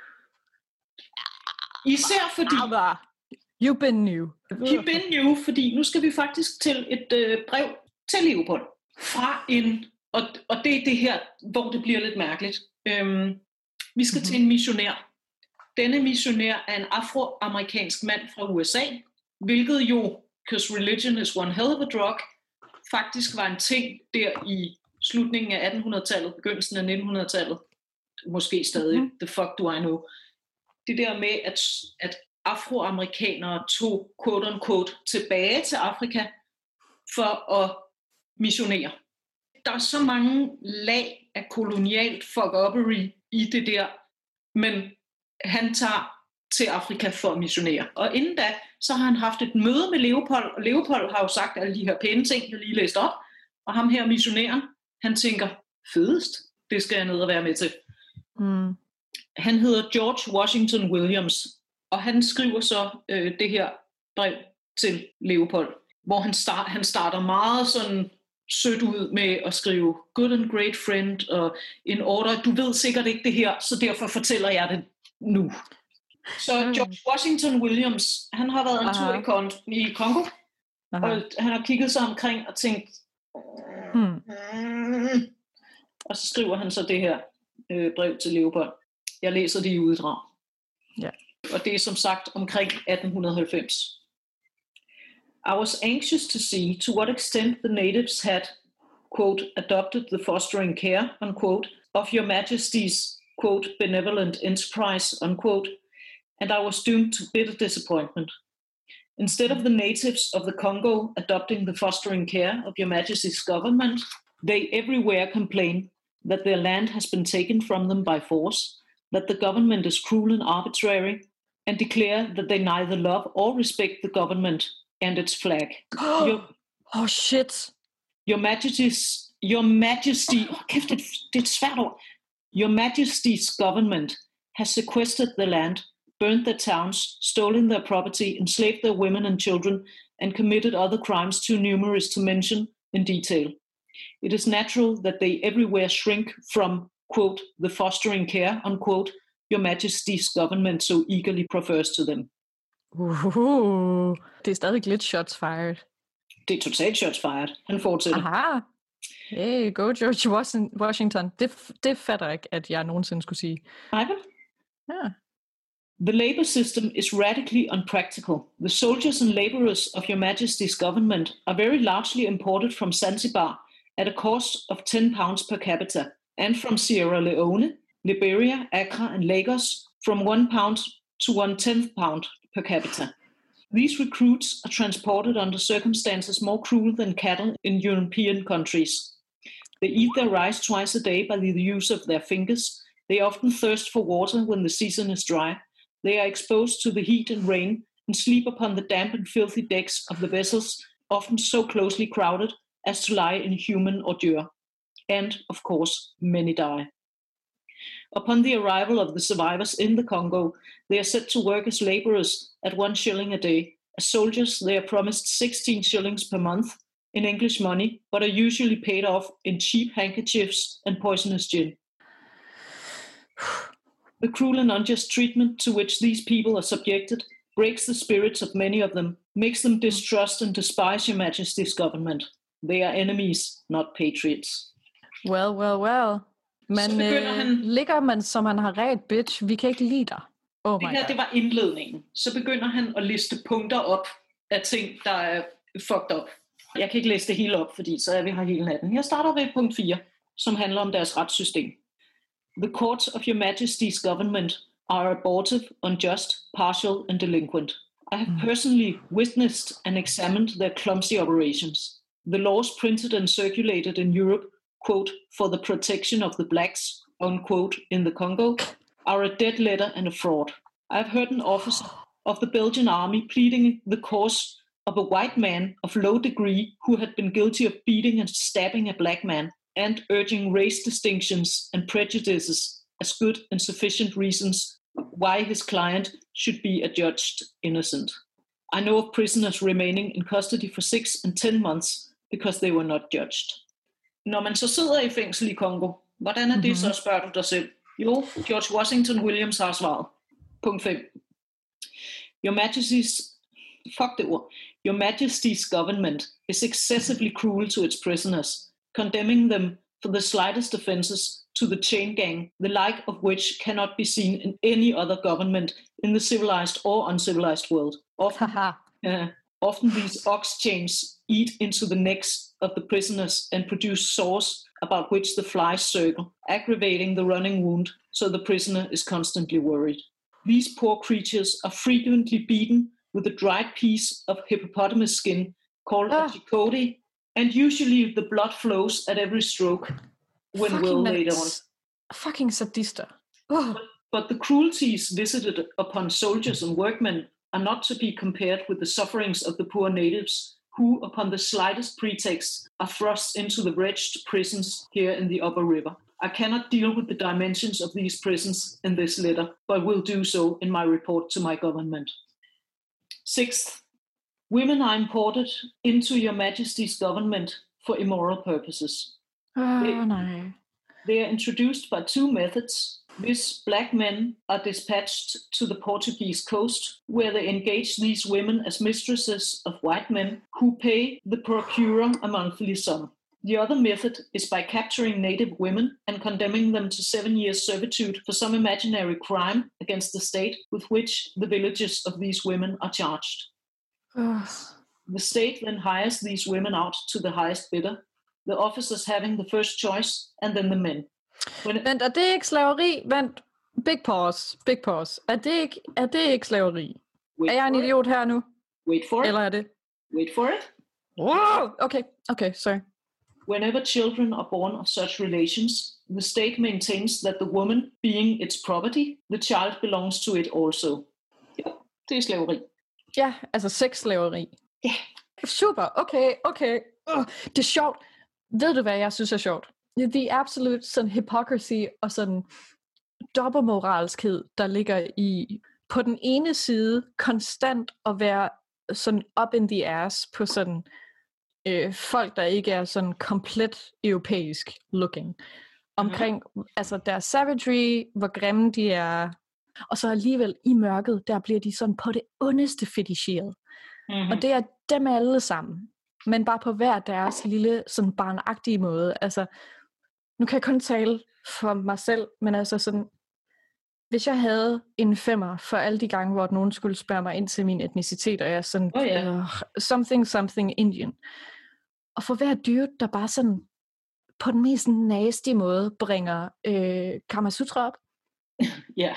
Især fordi... You've been new. You've been new, fordi nu skal vi faktisk til et brev til Leopold fra en, og det er det her, hvor det bliver lidt mærkeligt. Vi skal til en missionær, Denne missionær er en afroamerikansk mand fra USA, hvilket jo, because religion is one hell of a drug, faktisk var en ting der i slutningen af 1800-tallet, begyndelsen af 1900-tallet, måske stadig, the fuck do I know. Det der med, at afroamerikanere tog, quote unquote, tilbage til Afrika for at missionere. Der er så mange lag af kolonialt fuck-uppery i det der, men han tager til Afrika for at missionere. Og inden da, så har han haft et møde med Leopold, og Leopold har jo sagt alle de her pæne ting, jeg lige læste op, og ham her missionæren, han tænker, fedest, det skal jeg ned og være med til. Han hedder George Washington Williams, og han skriver så det her brev til Leopold, hvor han starter meget sådan sødt ud med at skrive good and great friend, og in order, du ved sikkert ikke det her, så derfor fortæller jeg det nu. Så George Washington Williams, han har været en tur i Kongo, og han har kigget sig omkring og tænkt, og så skriver han så det her brev til Leopold. Jeg læser det i uddrag. Ja. Og det er som sagt omkring 1890. I was anxious to see to what extent the natives had, quote, adopted the fostering care, unquote, of your majesty's, quote, benevolent enterprise, unquote, and I was doomed to bitter disappointment. Instead of the natives of the Congo adopting the fostering care of your majesty's government, they everywhere complain that their land has been taken from them by force, that the government is cruel and arbitrary, and declare that they neither love or respect the government and its flag. Shit. Your Majesty, kæft, det er et svært ord. Your Majesty's government has sequestered the land, burned their towns, stolen their property, enslaved their women and children, and committed other crimes too numerous to mention in detail. It is natural that they everywhere shrink from, quote, the fostering care, unquote, your Majesty's government so eagerly prefers to them. Det er stadig lidt shots fired. Det er totalt shots fired. Han fortsætter. Aha. Hey, go George Washington. Det fatter ikke, at jeg nogensinde skulle sige. Nej, vel? Ja. The labor system is radically unpractical. The soldiers and laborers of your Majesty's government are very largely imported from Zanzibar at a cost of £10 per capita, and from Sierra Leone, Liberia, Accra, and Lagos from £1 to £1/10 per capita. These recruits are transported under circumstances more cruel than cattle in European countries. They eat their rice twice a day by the use of their fingers. They often thirst for water when the season is dry. They are exposed to the heat and rain and sleep upon the damp and filthy decks of the vessels, often so closely crowded as to lie in human ordure. And, of course, many die. Upon the arrival of the survivors in the Congo, they are set to work as laborers at 1 shilling a day. As soldiers, they are promised 16 shillings per month in English money, but are usually paid off in cheap handkerchiefs and poisonous gin. The cruel and unjust treatment to which these people are subjected breaks the spirits of many of them, makes them distrust and despise your Majesty's government. They are enemies, not patriots. Well. Men ligger man, som man har ret, bitch, vi kan ikke lide dig. Det var indledningen. Så begynder han at liste punkter op af ting, der er fucked up. Jeg kan ikke læse det hele op, fordi så er vi her hele natten. Jeg starter ved punkt 4, som handler om deres retssystem. The courts of your Majesty's government are abortive, unjust, partial and delinquent. I have personally witnessed and examined their clumsy operations. The laws printed and circulated in Europe, quote, for the protection of the blacks, unquote, in the Congo, are a dead letter and a fraud. I have heard an officer of the Belgian army pleading the cause of a white man of low degree who had been guilty of beating and stabbing a black man, and urging race distinctions and prejudices as good and sufficient reasons why his client should be adjudged innocent. I know of prisoners remaining in custody for 6 and 10 months because they were not judged. Når man så sidder i fængsel i Kongo, hvordan er det så, spørger du dig selv? Jo, George Washington Williams har svaret. Punkt 5. Your Majesty's government is excessively cruel to its prisoners, condemning them for the slightest offenses to the chain gang, the like of which cannot be seen in any other government in the civilized or uncivilized world. Often these ox chains eat into the necks of the prisoners and produce sores about which the flies circle, aggravating the running wound, so the prisoner is constantly worried. These poor creatures are frequently beaten with a dried piece of hippopotamus skin called a chicote, and usually the blood flows at every stroke when well laid on. Fucking sadister. But the cruelties visited upon soldiers and workmen are not to be compared with the sufferings of the poor natives who, upon the slightest pretext, are thrust into the wretched prisons here in the upper river. I cannot deal with the dimensions of these prisons in this letter, but will do so in my report to my government. Sixth, women are imported into your majesty's government for immoral purposes. They are introduced by two methods. These black men are dispatched to the Portuguese coast, where they engage these women as mistresses of white men who pay the procurer a monthly sum. The other method is by capturing native women and condemning them to 7 years servitude for some imaginary crime against the state with which the villages of these women are charged. The state then hires these women out to the highest bidder, the officers having the first choice, and then the men. Vent, er det ikke slaveri? Vent, big pause. Er det ikke slaveri? Er jeg en idiot her nu? Wait for it. Eller er det? Wait for it. Wow! Okay, sorry. Whenever children are born of such relations, the state maintains that the woman, being its property, the child belongs to it also. Ja, det er slaveri. Ja, altså sexslaveri. Ja. Super, okay. Det er sjovt. Ved du, hvad jeg synes er sjovt? The absolute sådan hypocrisy og sådan dobbeltmoralskhed, der ligger i på den ene side konstant at være sådan up in the ass på sådan folk, der ikke er sådan komplet europæisk looking. Omkring altså deres savagery, hvor grimme de er, og så alligevel i mørket, der bliver de sådan på det ondeste fetisheret. Og det er dem alle sammen, men bare på hver deres lille sådan barnagtige måde. Altså, nu kan jeg kun tale for mig selv, men altså sådan, hvis jeg havde en 5'er for alle de gange, hvor nogen skulle spørge mig ind til min etnicitet, og jeg er sådan, something Indian. Og for hver dude, der bare sådan, på den mest nasty måde, bringer Kama Sutra op. Ja.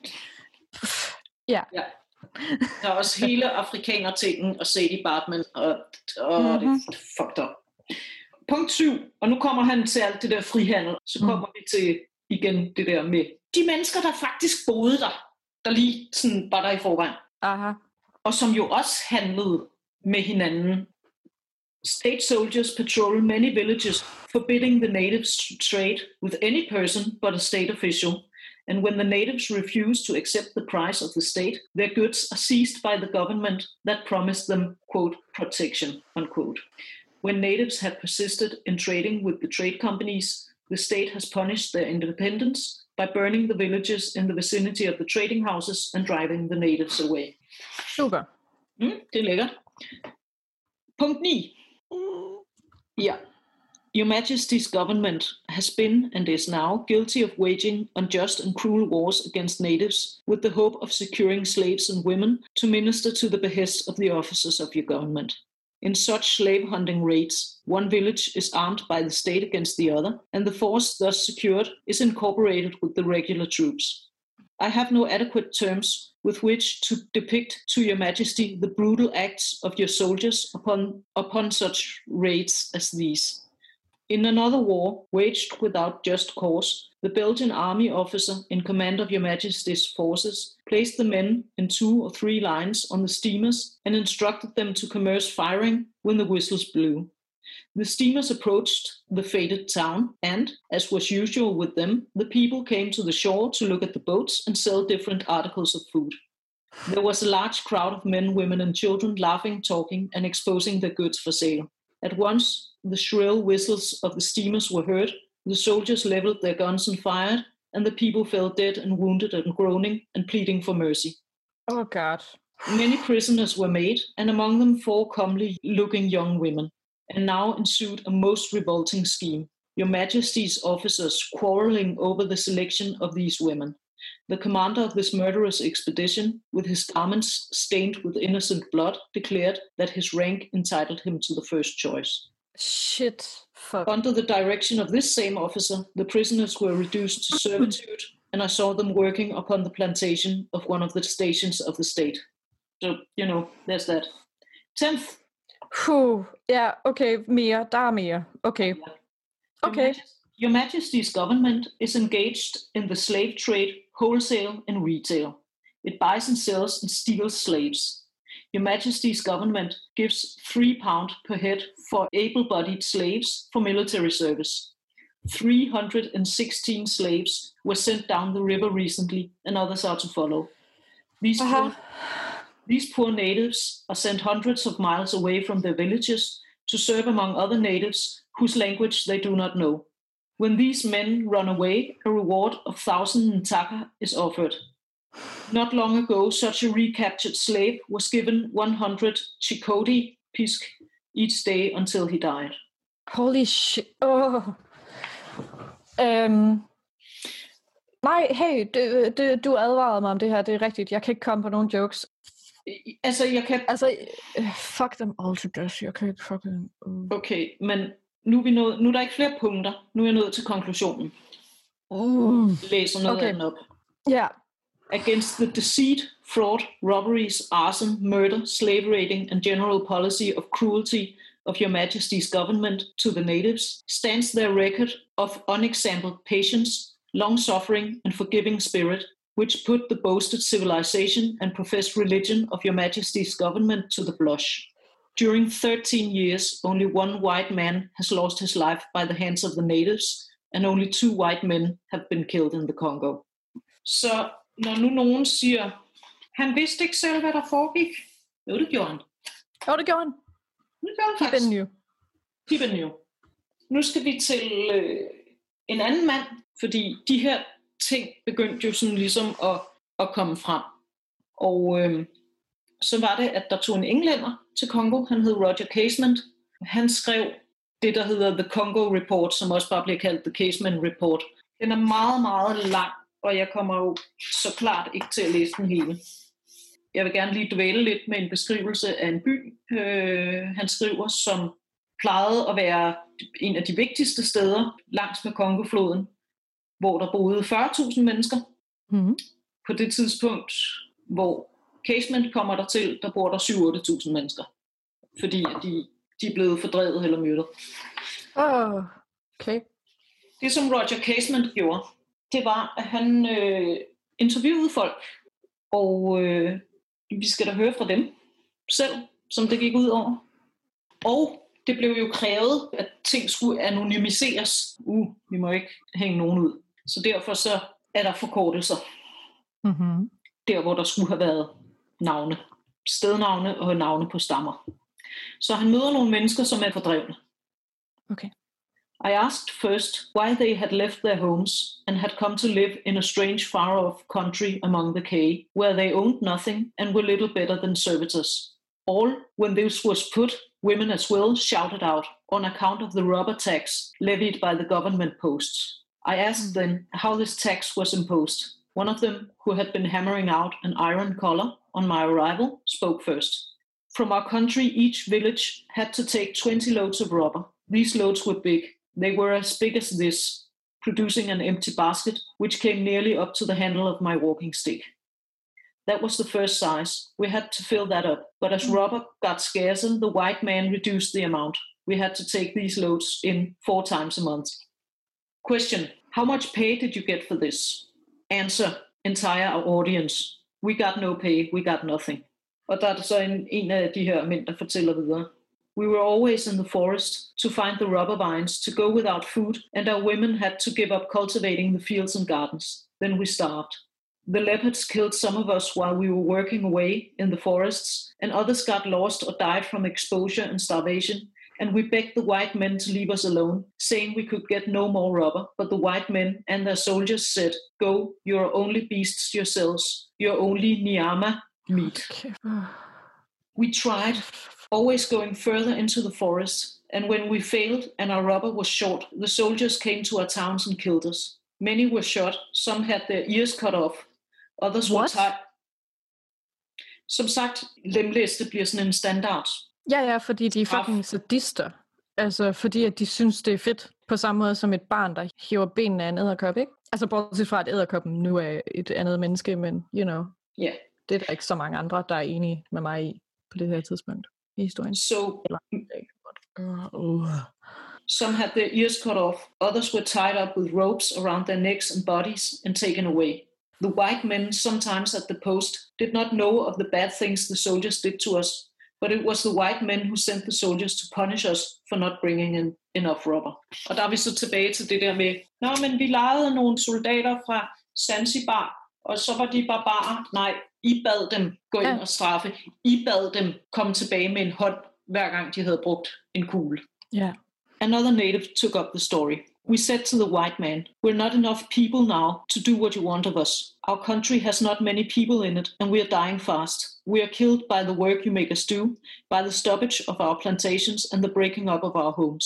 Der er også hele afrikaner-tingen og Sadie Bartman, og det er fucked up. Punkt 7, og nu kommer han til alt det der frihandel, så kommer vi til igen det der med de mennesker, der faktisk boede der lige sådan var der i forvejen. Aha. Og som jo også handlede med hinanden. State soldiers patrol many villages, forbidding the natives trade with any person but a state official. And when the natives refuse to accept the price of the state, their goods are seized by the government that promised them, quote, protection, unquote. When natives have persisted in trading with the trade companies, the state has punished their independence by burning the villages in the vicinity of the trading houses and driving the natives away. Super. Det er lækkert. Punkt 9. Ja. Your Majesty's government has been and is now guilty of waging unjust and cruel wars against natives with the hope of securing slaves and women to minister to the behests of the officers of your government. In such slave hunting raids, one village is armed by the state against the other, and the force thus secured is incorporated with the regular troops. I have no adequate terms with which to depict to your Majesty the brutal acts of your soldiers upon such raids as these. In another war, waged without just cause, the Belgian army officer in command of your Majesty's forces placed the men in 2 or 3 lines on the steamers and instructed them to commence firing when the whistles blew. The steamers approached the fated town, and, as was usual with them, the people came to the shore to look at the boats and sell different articles of food. There was a large crowd of men, women, and children laughing, talking, and exposing their goods for sale. At once, the shrill whistles of the steamers were heard, the soldiers leveled their guns and fired, and the people fell dead and wounded and groaning and pleading for mercy. Oh, God. Many prisoners were made, and among them 4 comely-looking young women. And now ensued a most revolting scheme. Your Majesty's officers quarreling over the selection of these women. The commander of this murderous expedition, with his garments stained with innocent blood, declared that his rank entitled him to the first choice. Shit. Fuck. Under the direction of this same officer, the prisoners were reduced to servitude, and I saw them working upon the plantation of one of the stations of the state. So, there's that. 10th. Ja, okay, mere. Der er mere. Okay. Okay. Your Majesty's government is engaged in the slave trade, wholesale and retail. It buys and sells and steals slaves. Your Majesty's government gives £3 per head for able-bodied slaves for military service. 316 slaves were sent down the river recently, and others are to follow. These poor natives are sent hundreds of miles away from their villages to serve among other natives whose language they do not know. When these men run away, a reward of 1,000 ntaka is offered. Not long ago, such a recaptured slave was given 100 chikoti pisk each day until he died. Holy shit. Nej, hey, du advarede mig om det her, det er rigtigt. Jeg kan ikke komme på nogen jokes. Fuck them all to death. Jeg kan ikke fucking... Okay, men nu er der ikke flere punkter. Nu er jeg nået til konklusionen. Læser noget andet op. Ja. Against the deceit, fraud, robberies, arson, murder, slave raiding, and general policy of cruelty of Your Majesty's government to the natives stands their record of unexampled patience, long-suffering, and forgiving spirit, which put the boasted civilization and professed religion of Your Majesty's government to the blush. During 13 years, only one white man has lost his life by the hands of the natives, and only 2 white men have been killed in the Congo. Så når nu nogen siger, han vidste ikke selv, hvad der foregik. Jo, det gjorde han. Det gjorde han. Keep it new. Nu skal vi til en anden mand, fordi de her ting begyndte jo sådan ligesom at komme frem. Og så var det, at der tog en englænder til Congo. Han hed Roger Casement. Han skrev det, der hedder The Congo Report, som også bare bliver kaldt The Casement Report. Den er meget, meget lang, og jeg kommer jo så klart ikke til at læse den hele. Jeg vil gerne lige dvæle lidt med en beskrivelse af en by, han skriver, som plejede at være en af de vigtigste steder langs med Kongofloden, hvor der boede 40.000 mennesker. Mm-hmm. På det tidspunkt, hvor Casement kommer der til, der bor der 7-8.000 mennesker, fordi de er blevet fordrevet eller myrdet. Okay. Det, som Roger Casement gjorde, det var, at han interviewede folk, og vi skal da høre fra dem selv, som det gik ud over. Og det blev jo krævet, at ting skulle anonymiseres. Vi må ikke hænge nogen ud. Så derfor så er der forkortelser. Mm-hmm. Der, hvor der skulle have været navne. Stednavne og navne på stammer. Så han møder nogle mennesker, som er fordrevne. Okay. I asked first why they had left their homes and had come to live in a strange far-off country among the K, where they owned nothing and were little better than servitors. All, when this was put, women as well shouted out on account of the rubber tax levied by the government posts. I asked them how this tax was imposed. One of them, who had been hammering out an iron collar on my arrival, spoke first. From our country, each village had to take 20 loads of rubber. These loads were big. They were as big as this, producing an empty basket, which came nearly up to the handle of my walking stick. That was the first size. We had to fill that up. But as rubber got scarcer, the white man reduced the amount. We had to take these loads in 4 times a month. Question: how much pay did you get for this? Answer: entire audience. We got no pay, we got nothing. Og der er det så en af de her mænd, der fortæller videre. We were always in the forest to find the rubber vines, to go without food, and our women had to give up cultivating the fields and gardens. Then we starved. The leopards killed some of us while we were working away in the forests, and others got lost or died from exposure and starvation, and we begged the white men to leave us alone, saying we could get no more rubber, but the white men and their soldiers said, "Go, you're only beasts yourselves, you're only nyama meat." Okay. We tried, always going further into the forest. And when we failed and our rubber was short, the soldiers came to our towns and killed us. Many were shot, some had their ears cut off, others were tied. Som sagt, lemlæste bliver sådan en standard. Ja, fordi de er fucking sadister. Altså, fordi at de synes, det er fedt. På samme måde som et barn, der hiver benene af en edderkop, ikke? Altså, bortset fra, at edderkoppen nu er et andet menneske, men, you know, det er der ikke så mange andre, der er enige med mig i på det her tidspunkt i historien. Some had their ears cut off, others were tied up with ropes around their necks and bodies and taken away. The white men, sometimes at the post, did not know of the bad things the soldiers did to us, but it was the white men who sent the soldiers to punish us for not bringing in enough rubber. Og der er vi så tilbage til det der med, men vi lejede nogle soldater fra Zanzibar, og så var de barbarer. Nej, I bad dem gå ind og straffe. I bad dem komme tilbage med en hånd, hver gang de havde brugt en kugle. Yeah. Another native took up the story. We said to the white man, we're not enough people now to do what you want of us. Our country has not many people in it, and we are dying fast. We are killed by the work you make us do, by the stoppage of our plantations and the breaking up of our homes.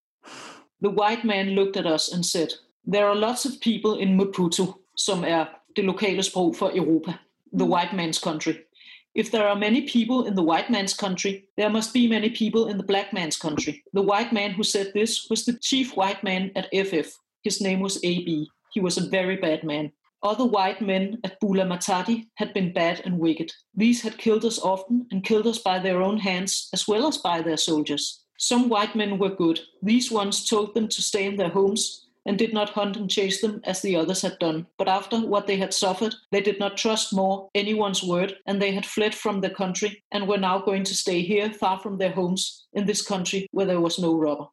The white man looked at us and said, there are lots of people in Maputo, som er det lokale sprog for Europa, the white man's country. If there are many people in the white man's country, there must be many people in the black man's country. The white man who said this was the chief white man at FF. His name was AB. He was a very bad man. Other white men at Bula Matadi had been bad and wicked. These had killed us often and killed us by their own hands as well as by their soldiers. Some white men were good. These ones told them to stay in their homes and did not hunt and chase them as the others had done. But after what they had suffered, they did not trust more anyone's word, and they had fled from their country and were now going to stay here, far from their homes, in this country where there was no rubber.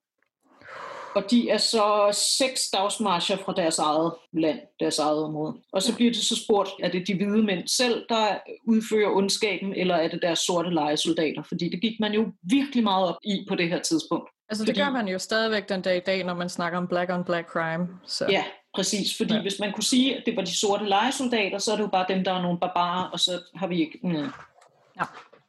Og de er så 6 dagsmarcher fra deres eget land, deres eget område. Og så bliver det så spurgt, er det de hvide mænd selv, der udfører ondskaben, eller er det deres sorte lejesoldater? Fordi det gik man jo virkelig meget op i på det her tidspunkt. Altså det gør man jo stadigvæk den dag i dag, når man snakker om black on black crime. Så. Ja, præcis. Fordi hvis man kunne sige, at det var de sorte lejesoldater, så er det jo bare dem, der er nogle barbarer, og så har vi ikke... Ja.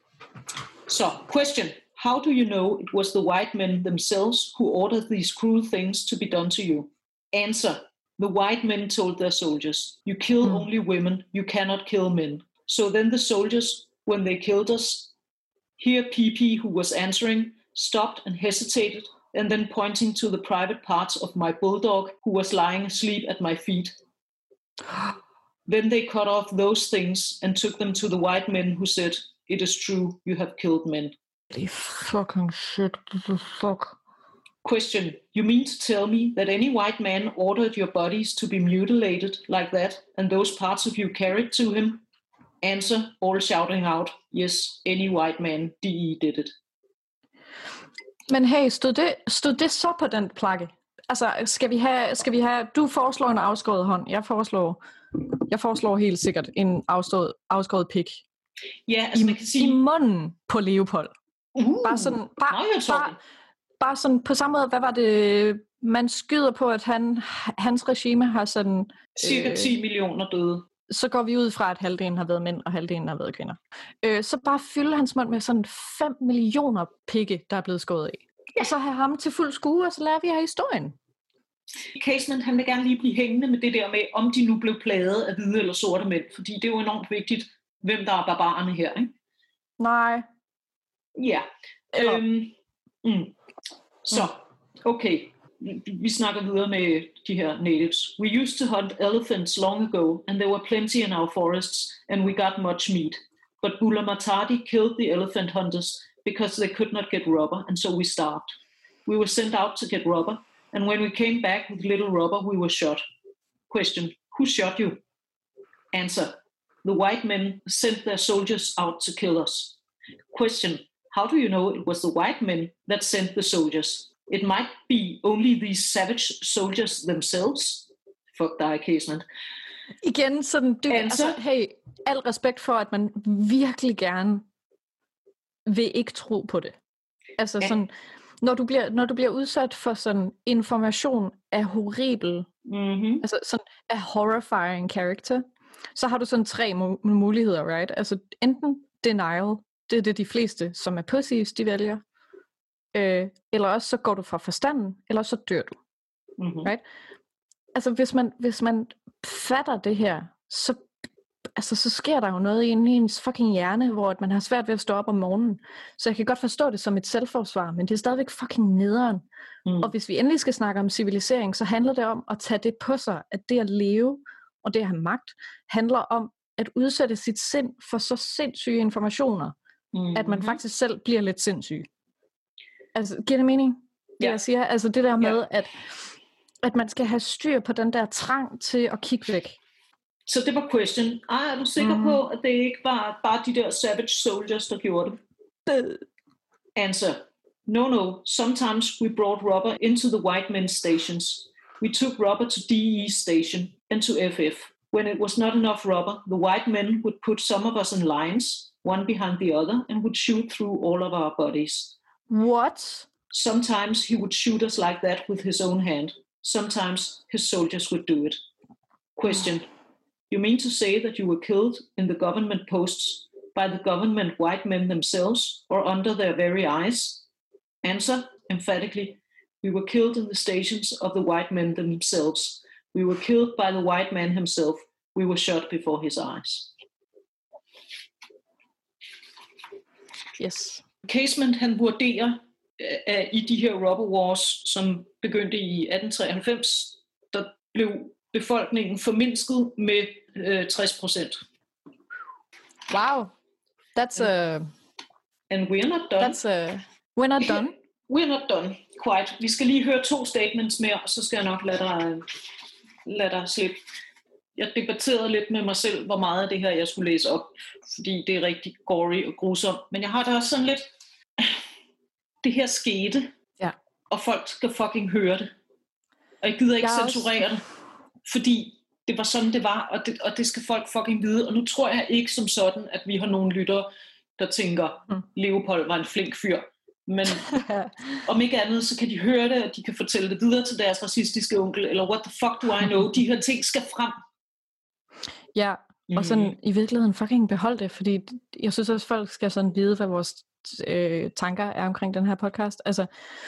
Så, question. How do you know it was the white men themselves who ordered these cruel things to be done to you? Answer. The white men told their soldiers, you kill only women, you cannot kill men. So then the soldiers, when they killed us, here PP, who was answering, stopped and hesitated, and then pointing to the private parts of my bulldog, who was lying asleep at my feet. Then they cut off those things and took them to the white men, who said, it is true, you have killed men. Fucking shit, fuck. Question, you mean to tell me that any white man ordered your bodies to be mutilated like that, and those parts of you carried to him? Answer, all shouting out, yes, any white man, DE did it. Men hey, stod det så på den plakke? Altså, skal vi have, du foreslår en afskåret hånd, jeg foreslår helt sikkert en afskåret pik. Ja, altså man kan sige... I munden på Leopold. Bare sådan, på samme måde, hvad var det, man skyder på, at hans regime har sådan... Cirka 10 millioner døde. Så går vi ud fra, at halvdelen har været mænd, og halvdelen har været kvinder. Så bare fylde hans mund med sådan 5 millioner pikke, der er blevet skåret af. Ja. Og så have ham til fuld skue, og så lærer vi her historien. Casement, han vil gerne lige blive hængende med det der med, om de nu blev plaget af hvide eller sorte mænd, fordi det er jo enormt vigtigt, hvem der er barbarerne her, ikke? Nej. Ja. Så, okay. Vi snakker videre med de her natives. We used to hunt elephants long ago, and there were plenty in our forests, and we got much meat. But Bula Matadi killed the elephant hunters because they could not get rubber, and so we starved. We were sent out to get rubber, and when we came back with little rubber, we were shot. Question, who shot you? Answer, the white men sent their soldiers out to kill us. Question, how do you know it was the white men that sent the soldiers? It might be only these savage soldiers themselves. Fuck dig, Casement. Igen, sådan, altså, hey, al respekt for, at man virkelig gerne vil ikke tro på det. Altså sådan, når du bliver udsat for sådan information af horribel, altså sådan af horrifying character, så har du sådan 3 muligheder, right? Altså enten denial, Det er det, de fleste, som er pussies, de vælger. Eller også så går du fra forstanden, eller så dør du. Mm-hmm. Right? Altså hvis man fatter det her, så sker der jo noget inde i ens fucking hjerne, hvor man har svært ved at stå op om morgenen. Så jeg kan godt forstå det som et selvforsvar, men det er stadigvæk fucking nederen. Og hvis vi endelig skal snakke om civilisering, så handler det om at tage det på sig, at det at leve og det at have magt, handler om at udsætte sit sind for så sindssyge informationer, at man faktisk selv bliver lidt sindssyg. Altså, giver det mening? Det jeg siger, altså det der med, at man skal have styr på den der trang til at kigge væk. Så det var question. Er du sikker på, at det ikke var bare de der savage soldiers, der gjorde det? Answer. No. Sometimes we brought rubber into the white men's stations. We took rubber to DE station and to FF. When it was not enough rubber, the white men would put some of us in lines, one behind the other, and would shoot through all of our bodies. What? Sometimes he would shoot us like that with his own hand. Sometimes his soldiers would do it. Question. You mean to say that you were killed in the government posts by the government white men themselves or under their very eyes? Answer, emphatically, we were killed in the stations of the white men themselves. We were killed by the white man himself. We were shot before his eyes. Yes. Casement, han vurderer, i de her robber wars, som begyndte i 1893, der blev befolkningen formindsket med 60%. Wow. That's And we're not done. We're not done. We're not done, quite. Vi skal lige høre 2 statements mere, så skal jeg nok lade dig slippe. Jeg debatterede lidt med mig selv, hvor meget af det her, jeg skulle læse op, fordi det er rigtig gory og grusomt. Men jeg har da også sådan lidt, det her skete, og folk skal fucking høre det. Og jeg gider ikke censurere det, fordi det var sådan, det var, og det skal folk fucking vide. Og nu tror jeg ikke som sådan, at vi har nogle lyttere, der tænker, Leopold var en flink fyr. Men om ikke andet, så kan de høre det, og de kan fortælle det videre til deres racistiske onkel, eller what the fuck do I know? De her ting skal frem. Ja, og sådan i virkeligheden fucking behold det, fordi jeg synes også, folk skal sådan vide, hvad vores tanker er omkring den her podcast. Altså,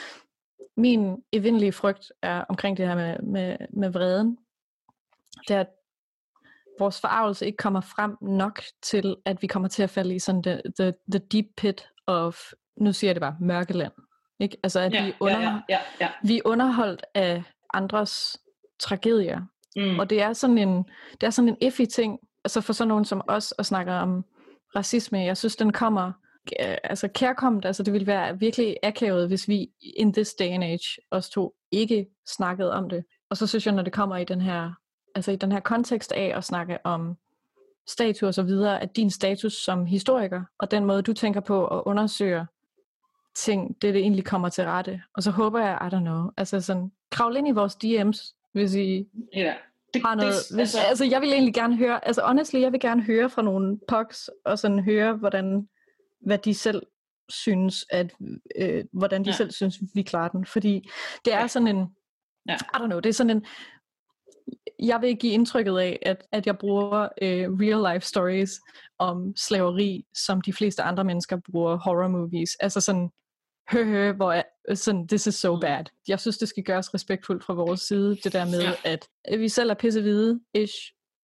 min evindelige frygt er omkring det her med vreden. Det er, at vores forarvelse ikke kommer frem nok til, at vi kommer til at falde i sådan the deep pit of, nu siger jeg det bare, mørkeland. Ikke? Altså, at vi er underholdt af andres tragedier. Og det er sådan en iffy ting, altså for sådan nogen som os, at snakke om racisme. Jeg synes, den kommer kærkommet, altså det ville være virkelig akavet, hvis vi in this day and age, os to, ikke snakkede om det. Og så synes jeg, når det kommer i den her kontekst af at snakke om statuer og så videre, at din status som historiker, og den måde, du tænker på at undersøge ting, det egentlig kommer til rette. Og så håber jeg, I don't know, altså sådan, kravl ind i vores DM's, hvis I har noget. Altså, jeg vil egentlig gerne høre, altså honestly, jeg vil gerne høre fra nogle pogs, og sådan høre, hvad de selv synes, hvordan de selv synes, vi klarer den. Fordi det er sådan en, I don't know, det er sådan en, jeg vil give indtrykket af, at jeg bruger real life stories om slaveri, som de fleste andre mennesker bruger horror movies. Altså sådan, hvor sådan, this is so bad. Jeg synes, det skal gøres respektfuldt fra vores side, det der med, at vi selv er pissehvide-ish.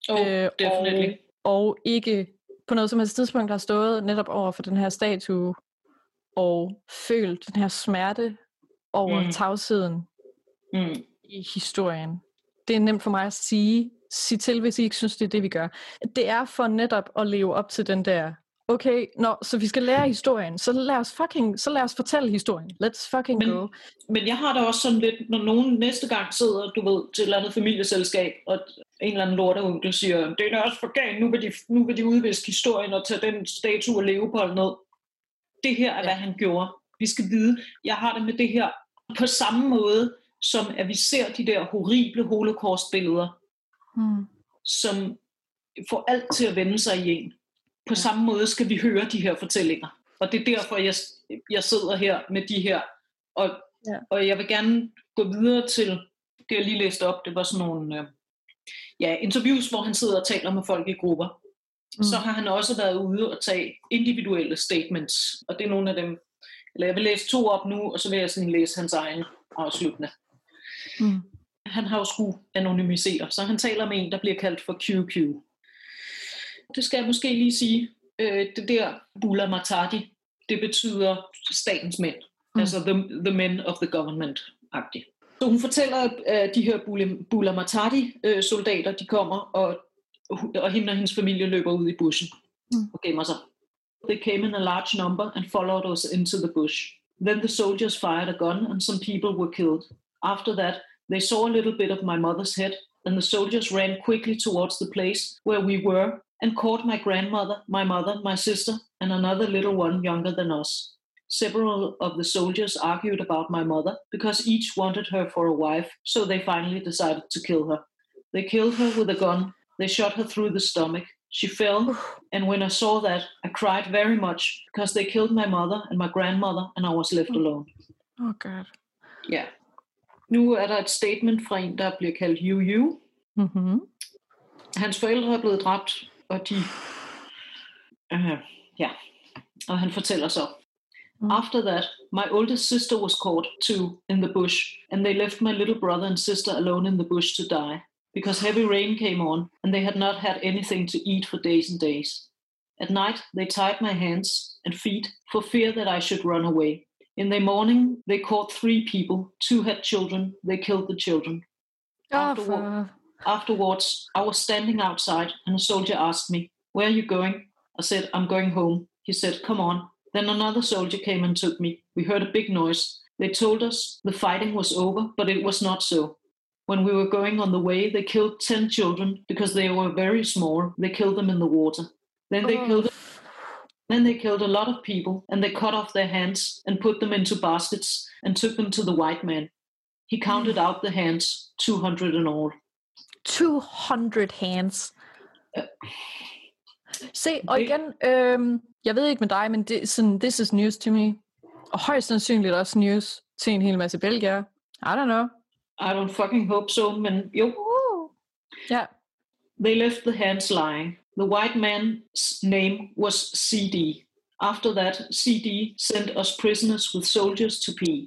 Og ikke på noget som helst tidspunkt har stået netop over for den her statue, og følt den her smerte over tavsheden i historien. Det er nemt for mig at sige til, hvis I ikke synes, det er det, vi gør. Det er for netop at leve op til den der, okay, så vi skal lære historien, så lad os fortælle historien. Let's fucking go. Men jeg har da også sådan lidt, når nogen næste gang sidder, du ved, til et eller andet familieselskab, og en eller anden lorteonkel siger, det er også for galt, nu vil de udviske historien og tage den statue af Leopold ned. Det her er, hvad han gjorde. Vi skal vide, jeg har det med det her på samme måde, som at vi ser de der horrible holocaust-billeder, som får alt til at vende sig i en. På samme måde skal vi høre de her fortællinger. Og det er derfor, jeg sidder her med de her. Og jeg vil gerne gå videre til det, jeg lige læste op. Det var sådan nogle interviews, hvor han sidder og taler med folk i grupper. så har han også været ude og tage individuelle statements, og det er nogle af dem, eller jeg vil læse 2 op nu, og så vil jeg sådan læse hans egen afsluttende. Han har jo skulle anonymisere, så han taler med en, der bliver kaldt for QQ. Det skal jeg måske lige sige. Det der Bula Matadi, det betyder statens mænd. Altså the men of the government-agtigt. Så hun fortæller, at de her Bula Matadi-soldater, de kommer, og hende og hendes familie løber ud i bushen og gemmer sig. They came in a large number and followed us into the bush. Then the soldiers fired a gun and some people were killed. After that, they saw a little bit of my mother's head, and the soldiers ran quickly towards the place where we were and caught my grandmother, my mother, my sister, and another little one younger than us. Several of the soldiers argued about my mother because each wanted her for a wife, so they finally decided to kill her. They killed her with a gun. They shot her through the stomach. She fell, and when I saw that, I cried very much because they killed my mother and my grandmother, and I was left alone. Oh God. Ja. Nu er der et statement fra en, der bliver kaldt Yu. Hans forældre er blevet dræbt, og de... Og han fortæller så... After that, my oldest sister was caught too in the bush, and they left my little brother and sister alone in the bush to die, because heavy rain came on, and they had not had anything to eat for days and days. At night, they tied my hands and feet for fear that I should run away. In the morning, they caught 3 people. 2 had children. They killed the children. Afterwards, I was standing outside, and a soldier asked me, "Where are you going?" I said, "I'm going home." He said, "Come on." Then another soldier came and took me. We heard a big noise. They told us the fighting was over, but it was not so. When we were going on the way, they killed 10 children because they were very small. They killed them in the water. Then they killed a lot of people, and they cut off their hands and put them into baskets and took them to the white man. He counted out the hands, 200 in all. 200 hands. Se, og igen, jeg ved ikke med dig, men det, sådan, this is news to me. Og højst sandsynligt også news til en hel masse belgier. I don't know. I don't fucking hope so, men jo. Yeah. They left the hands lying. The white man's name was CD. After that, CD sent us prisoners with soldiers to P.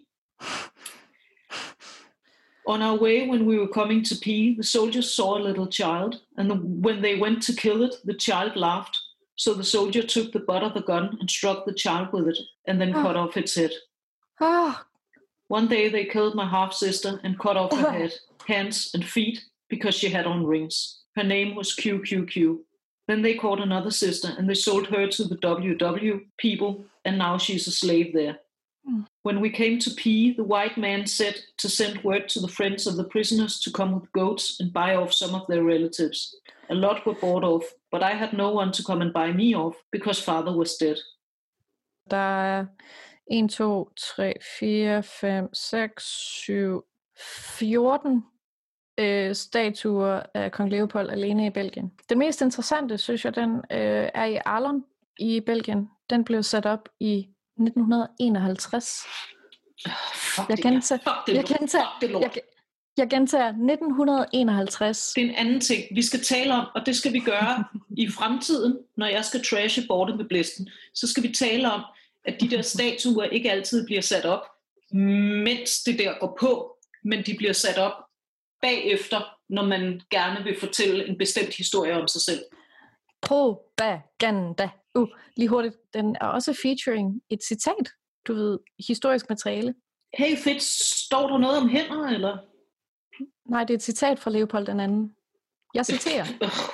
On our way, when we were coming to P, the soldiers saw a little child, and when they went to kill it, the child laughed. So the soldier took the butt of the gun and struck the child with it, and then cut off its head. One day they killed my half-sister and cut off her head, hands and feet because she had on rings. Her name was QQQ. Then they caught another sister and they sold her to the WW people, and now she's a slave there. When we came to P, the white man said to send word to the friends of the prisoners to come with goats and buy off some of their relatives. A lot were bought off, but I had no one to come and buy me off because father was dead. Der er 1, 2, 3, 4, 5, 6, 7, 14 statuer af kong Leopold alene i Belgien. Den mest interessante, synes jeg, den er i Arlon i Belgien. Den blev sat op i 1951. Jeg gentager 1951. Det er en anden ting, vi skal tale om, og det skal vi gøre i fremtiden, når jeg skal trashe bordet med blæsten. Så skal vi tale om, at de der statuer ikke altid bliver sat op, mens det der går på, men de bliver sat op bagefter, når man gerne vil fortælle en bestemt historie om sig selv. Propaganda. Lige hurtigt. Den er også featuring et citat. Du ved, historisk materiale. Hey fedt, står der noget om hænder, eller? Nej, det er et citat fra Leopold den anden. Jeg citerer.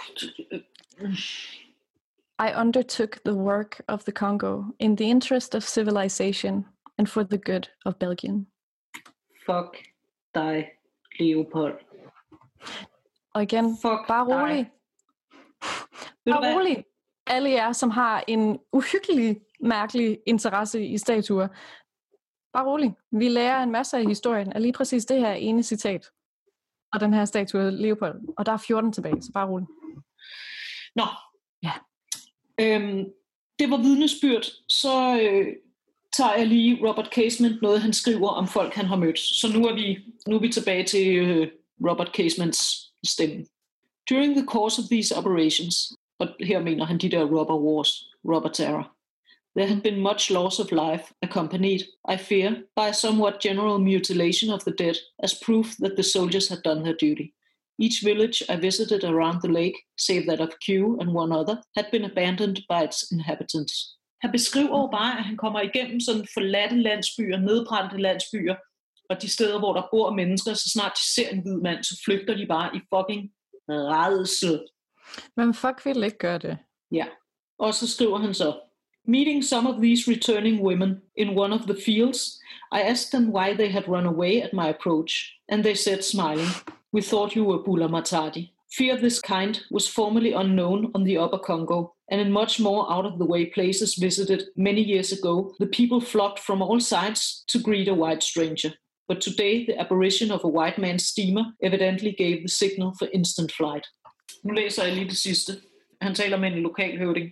I undertook the work of the Congo in the interest of civilization and for the good of Belgium. Fuck dig, Leopold. Og igen, bare rolig. Bare rolig. Alle jer, som har en uhyggelig, mærkelig interesse i statuer. Bare rolig. Vi lærer en masse af historien af lige præcis det her ene citat. Og den her statue Leopold. Og der er 14 tilbage, så bare rolig. Nå. Ja. Det var vidnesbyrd. Så tager jeg lige Robert Casement, noget han skriver om folk, han har mødt. Så nu er vi tilbage til Robert Casements stemme. During the course of these operations, Og her mener han de der robber wars, robber terror. There had been much loss of life, accompanied, I fear, by a somewhat general mutilation of the dead, as proof that the soldiers had done their duty. Each village I visited around the lake, save that of Q and one other, had been abandoned by its inhabitants. Han beskriver jo bare, at han kommer igennem sådan forladte landsbyer, nedbrændte landsbyer, og de steder, hvor der bor mennesker, så snart de ser en hvid mand, så flygter de bare i fucking rædsel. Men fuck vil ikke gøre det. Ja, og så skriver han så, meeting some of these returning women in one of the fields, I asked them why they had run away at my approach, and they said, smiling, we thought you were Bula Matadi. Fear of this kind was formerly unknown on the Upper Congo, and in much more out-of-the-way places visited many years ago, the people flocked from all sides to greet a white stranger. But today, the apparition of a white man's steamer evidently gave the signal for instant flight. Nu læser jeg lige det sidste. Han taler med en lokal høvding.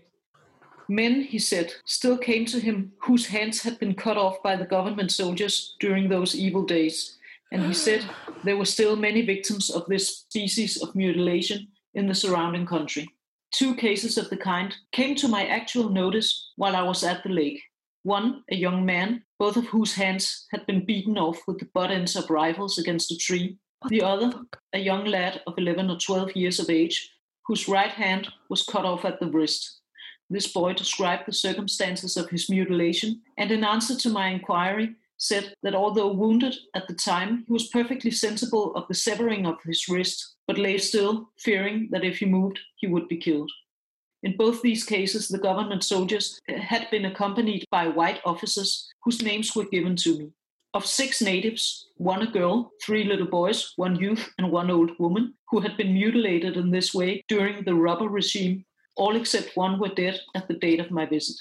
Men, he said, still came to him whose hands had been cut off by the government soldiers during those evil days. And he said there were still many victims of this species of mutilation in the surrounding country. 2 cases of the kind came to my actual notice while I was at the lake. One, a young man, both of whose hands had been beaten off with the butt ends of rifles against a tree. The other, a young lad of 11 or 12 years of age, whose right hand was cut off at the wrist. This boy described the circumstances of his mutilation, and in answer to my inquiry, said that although wounded at the time, he was perfectly sensible of the severing of his wrist, but lay still, fearing that if he moved, he would be killed. In both these cases, the government soldiers had been accompanied by white officers whose names were given to me. Of 6 natives, 1 a girl, 3 little boys, 1 youth, and 1 old woman, who had been mutilated in this way during the robber regime, all except 1 were dead at the date of my visit.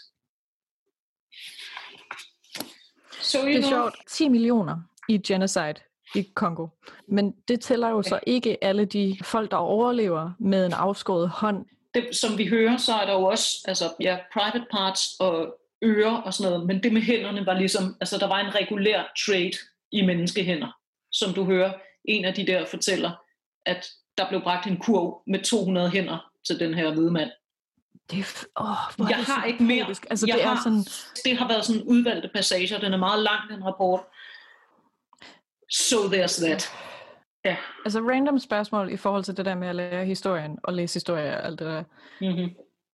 So, det er sjovt. 10 millioner i genocide i Kongo. Men det tæller jo så ikke alle de folk, der overlever med en afskåret hånd. Det, som vi hører, så er der jo også private parts og ører og sådan noget, men det med hænderne var ligesom, altså der var en regulær trade i menneskehænder, som du hører. En af de der fortæller, at der blev bragt en kurv med 200 hænder til den her hvide mand. Jeg har ikke mere. Altså, det har været sådan udvalgte passager. Den er meget lang, den rapport. So there's that. Ja. Altså random spørgsmål i forhold til det der med at lære historien og læse historie og alt det der. Mm-hmm.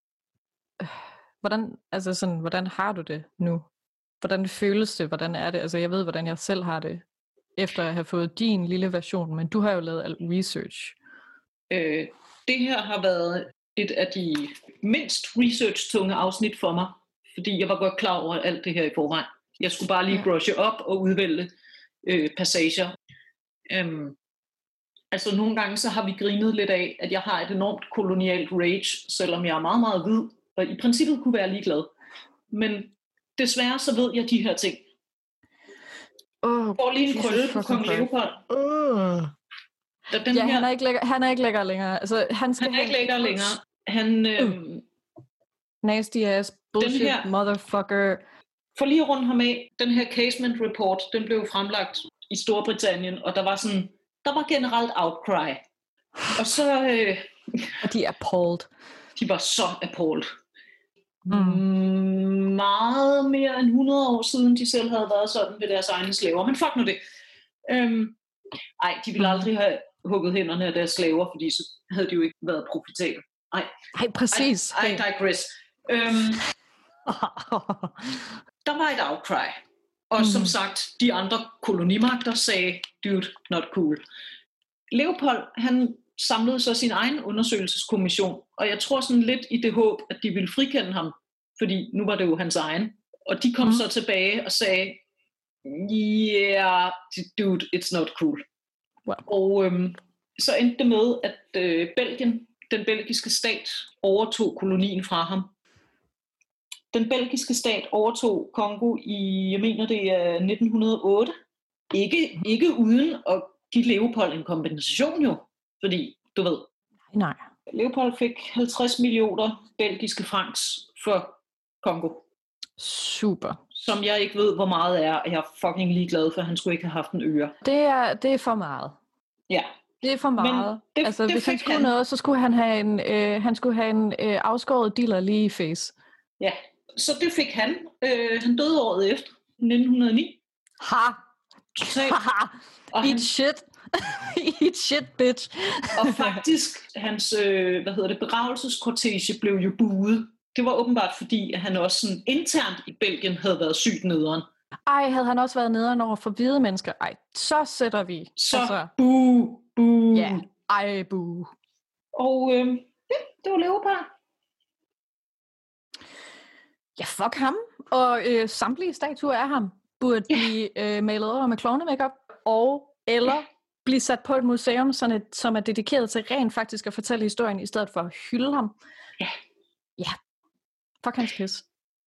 Hvordan har du det nu? Hvordan føles det? Hvordan er det? Altså jeg ved, hvordan jeg selv har det, efter at have fået din lille version, men du har jo lavet alt research. Det her har været et af de mindst research-tunge afsnit for mig, fordi jeg var godt klar over alt det her i forvejen. Jeg skulle bare lige brushe op og udvælge passager. Altså nogle gange så har vi grinet lidt af, at jeg har et enormt kolonialt rage, selvom jeg er meget, meget hvid, og i princippet kunne være ligeglad. Men desværre så ved jeg de her ting. Får lige en krølle på Kong Leopold. Han er ikke lækker længere. Altså, han er ikke lækker længere. Nasty ass bullshit her, motherfucker. For lige at runde ham af, den her casement report, den blev fremlagt i Storbritannien, og der var generelt outcry. Og så... og de er appalled. De var så appalled. Meget mere end 100 år siden, de selv havde været sådan ved deres egne slaver. Men fuck nu det. De ville aldrig have hugget hænderne af deres slaver, fordi så havde de jo ikke været profitabel. Nej, præcis. I digress. Der var et outcry. Og som sagt, de andre kolonimagter sagde, dude, not cool. Leopold, han samlede så sin egen undersøgelseskommission, og jeg tror sådan lidt i det håb, at de ville frikende ham, fordi nu var det jo hans egen. Og de kom så tilbage og sagde, yeah, dude, it's not cool. Wow. Og så endte det med, at Belgien, den belgiske stat, overtog kolonien fra ham. Den belgiske stat overtog Kongo i, jeg mener det er 1908. Ikke uden at give Leopold en kompensation jo, fordi du ved. Nej. Leopold fik 50 millioner belgiske francs for Kongo. Super. Som jeg ikke ved, hvor meget er, og jeg er fucking ligeglad for, at han skulle ikke have haft en øre. Det er for meget. Ja, Det er for meget. Hvis han skulle noget, så skulle han have en afskåret dealer lige i face. Ja, så det fik han. Han døde året efter, 1909. Ha! Eat shit. Eat shit, bitch. Og faktisk, hans begravelseskortege blev jo buet. Det var åbenbart fordi, at han også sådan internt i Belgien havde været sygt nederen. Ej, havde han også været nederen over for hvide mennesker? Ej, så sætter vi. Så boo. Ja, ej, boo. Og det var Leopard. Ja, fuck ham. Og samtlige statuer af ham burde blive malet over med klovne-makeup, eller blive sat på et museum, som er dedikeret til rent faktisk at fortælle historien, i stedet for at hylde ham. Ja. Fuck hans pis.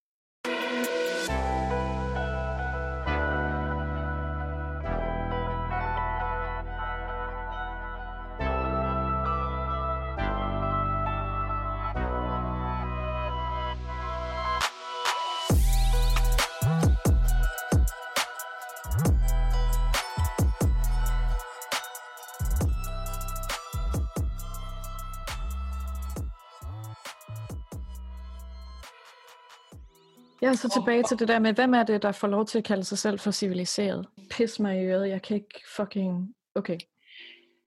Jeg er så tilbage til det der med, hvem er det, der får lov til at kalde sig selv for civiliseret? Pis mig i øret, jeg kan ikke fucking... Okay,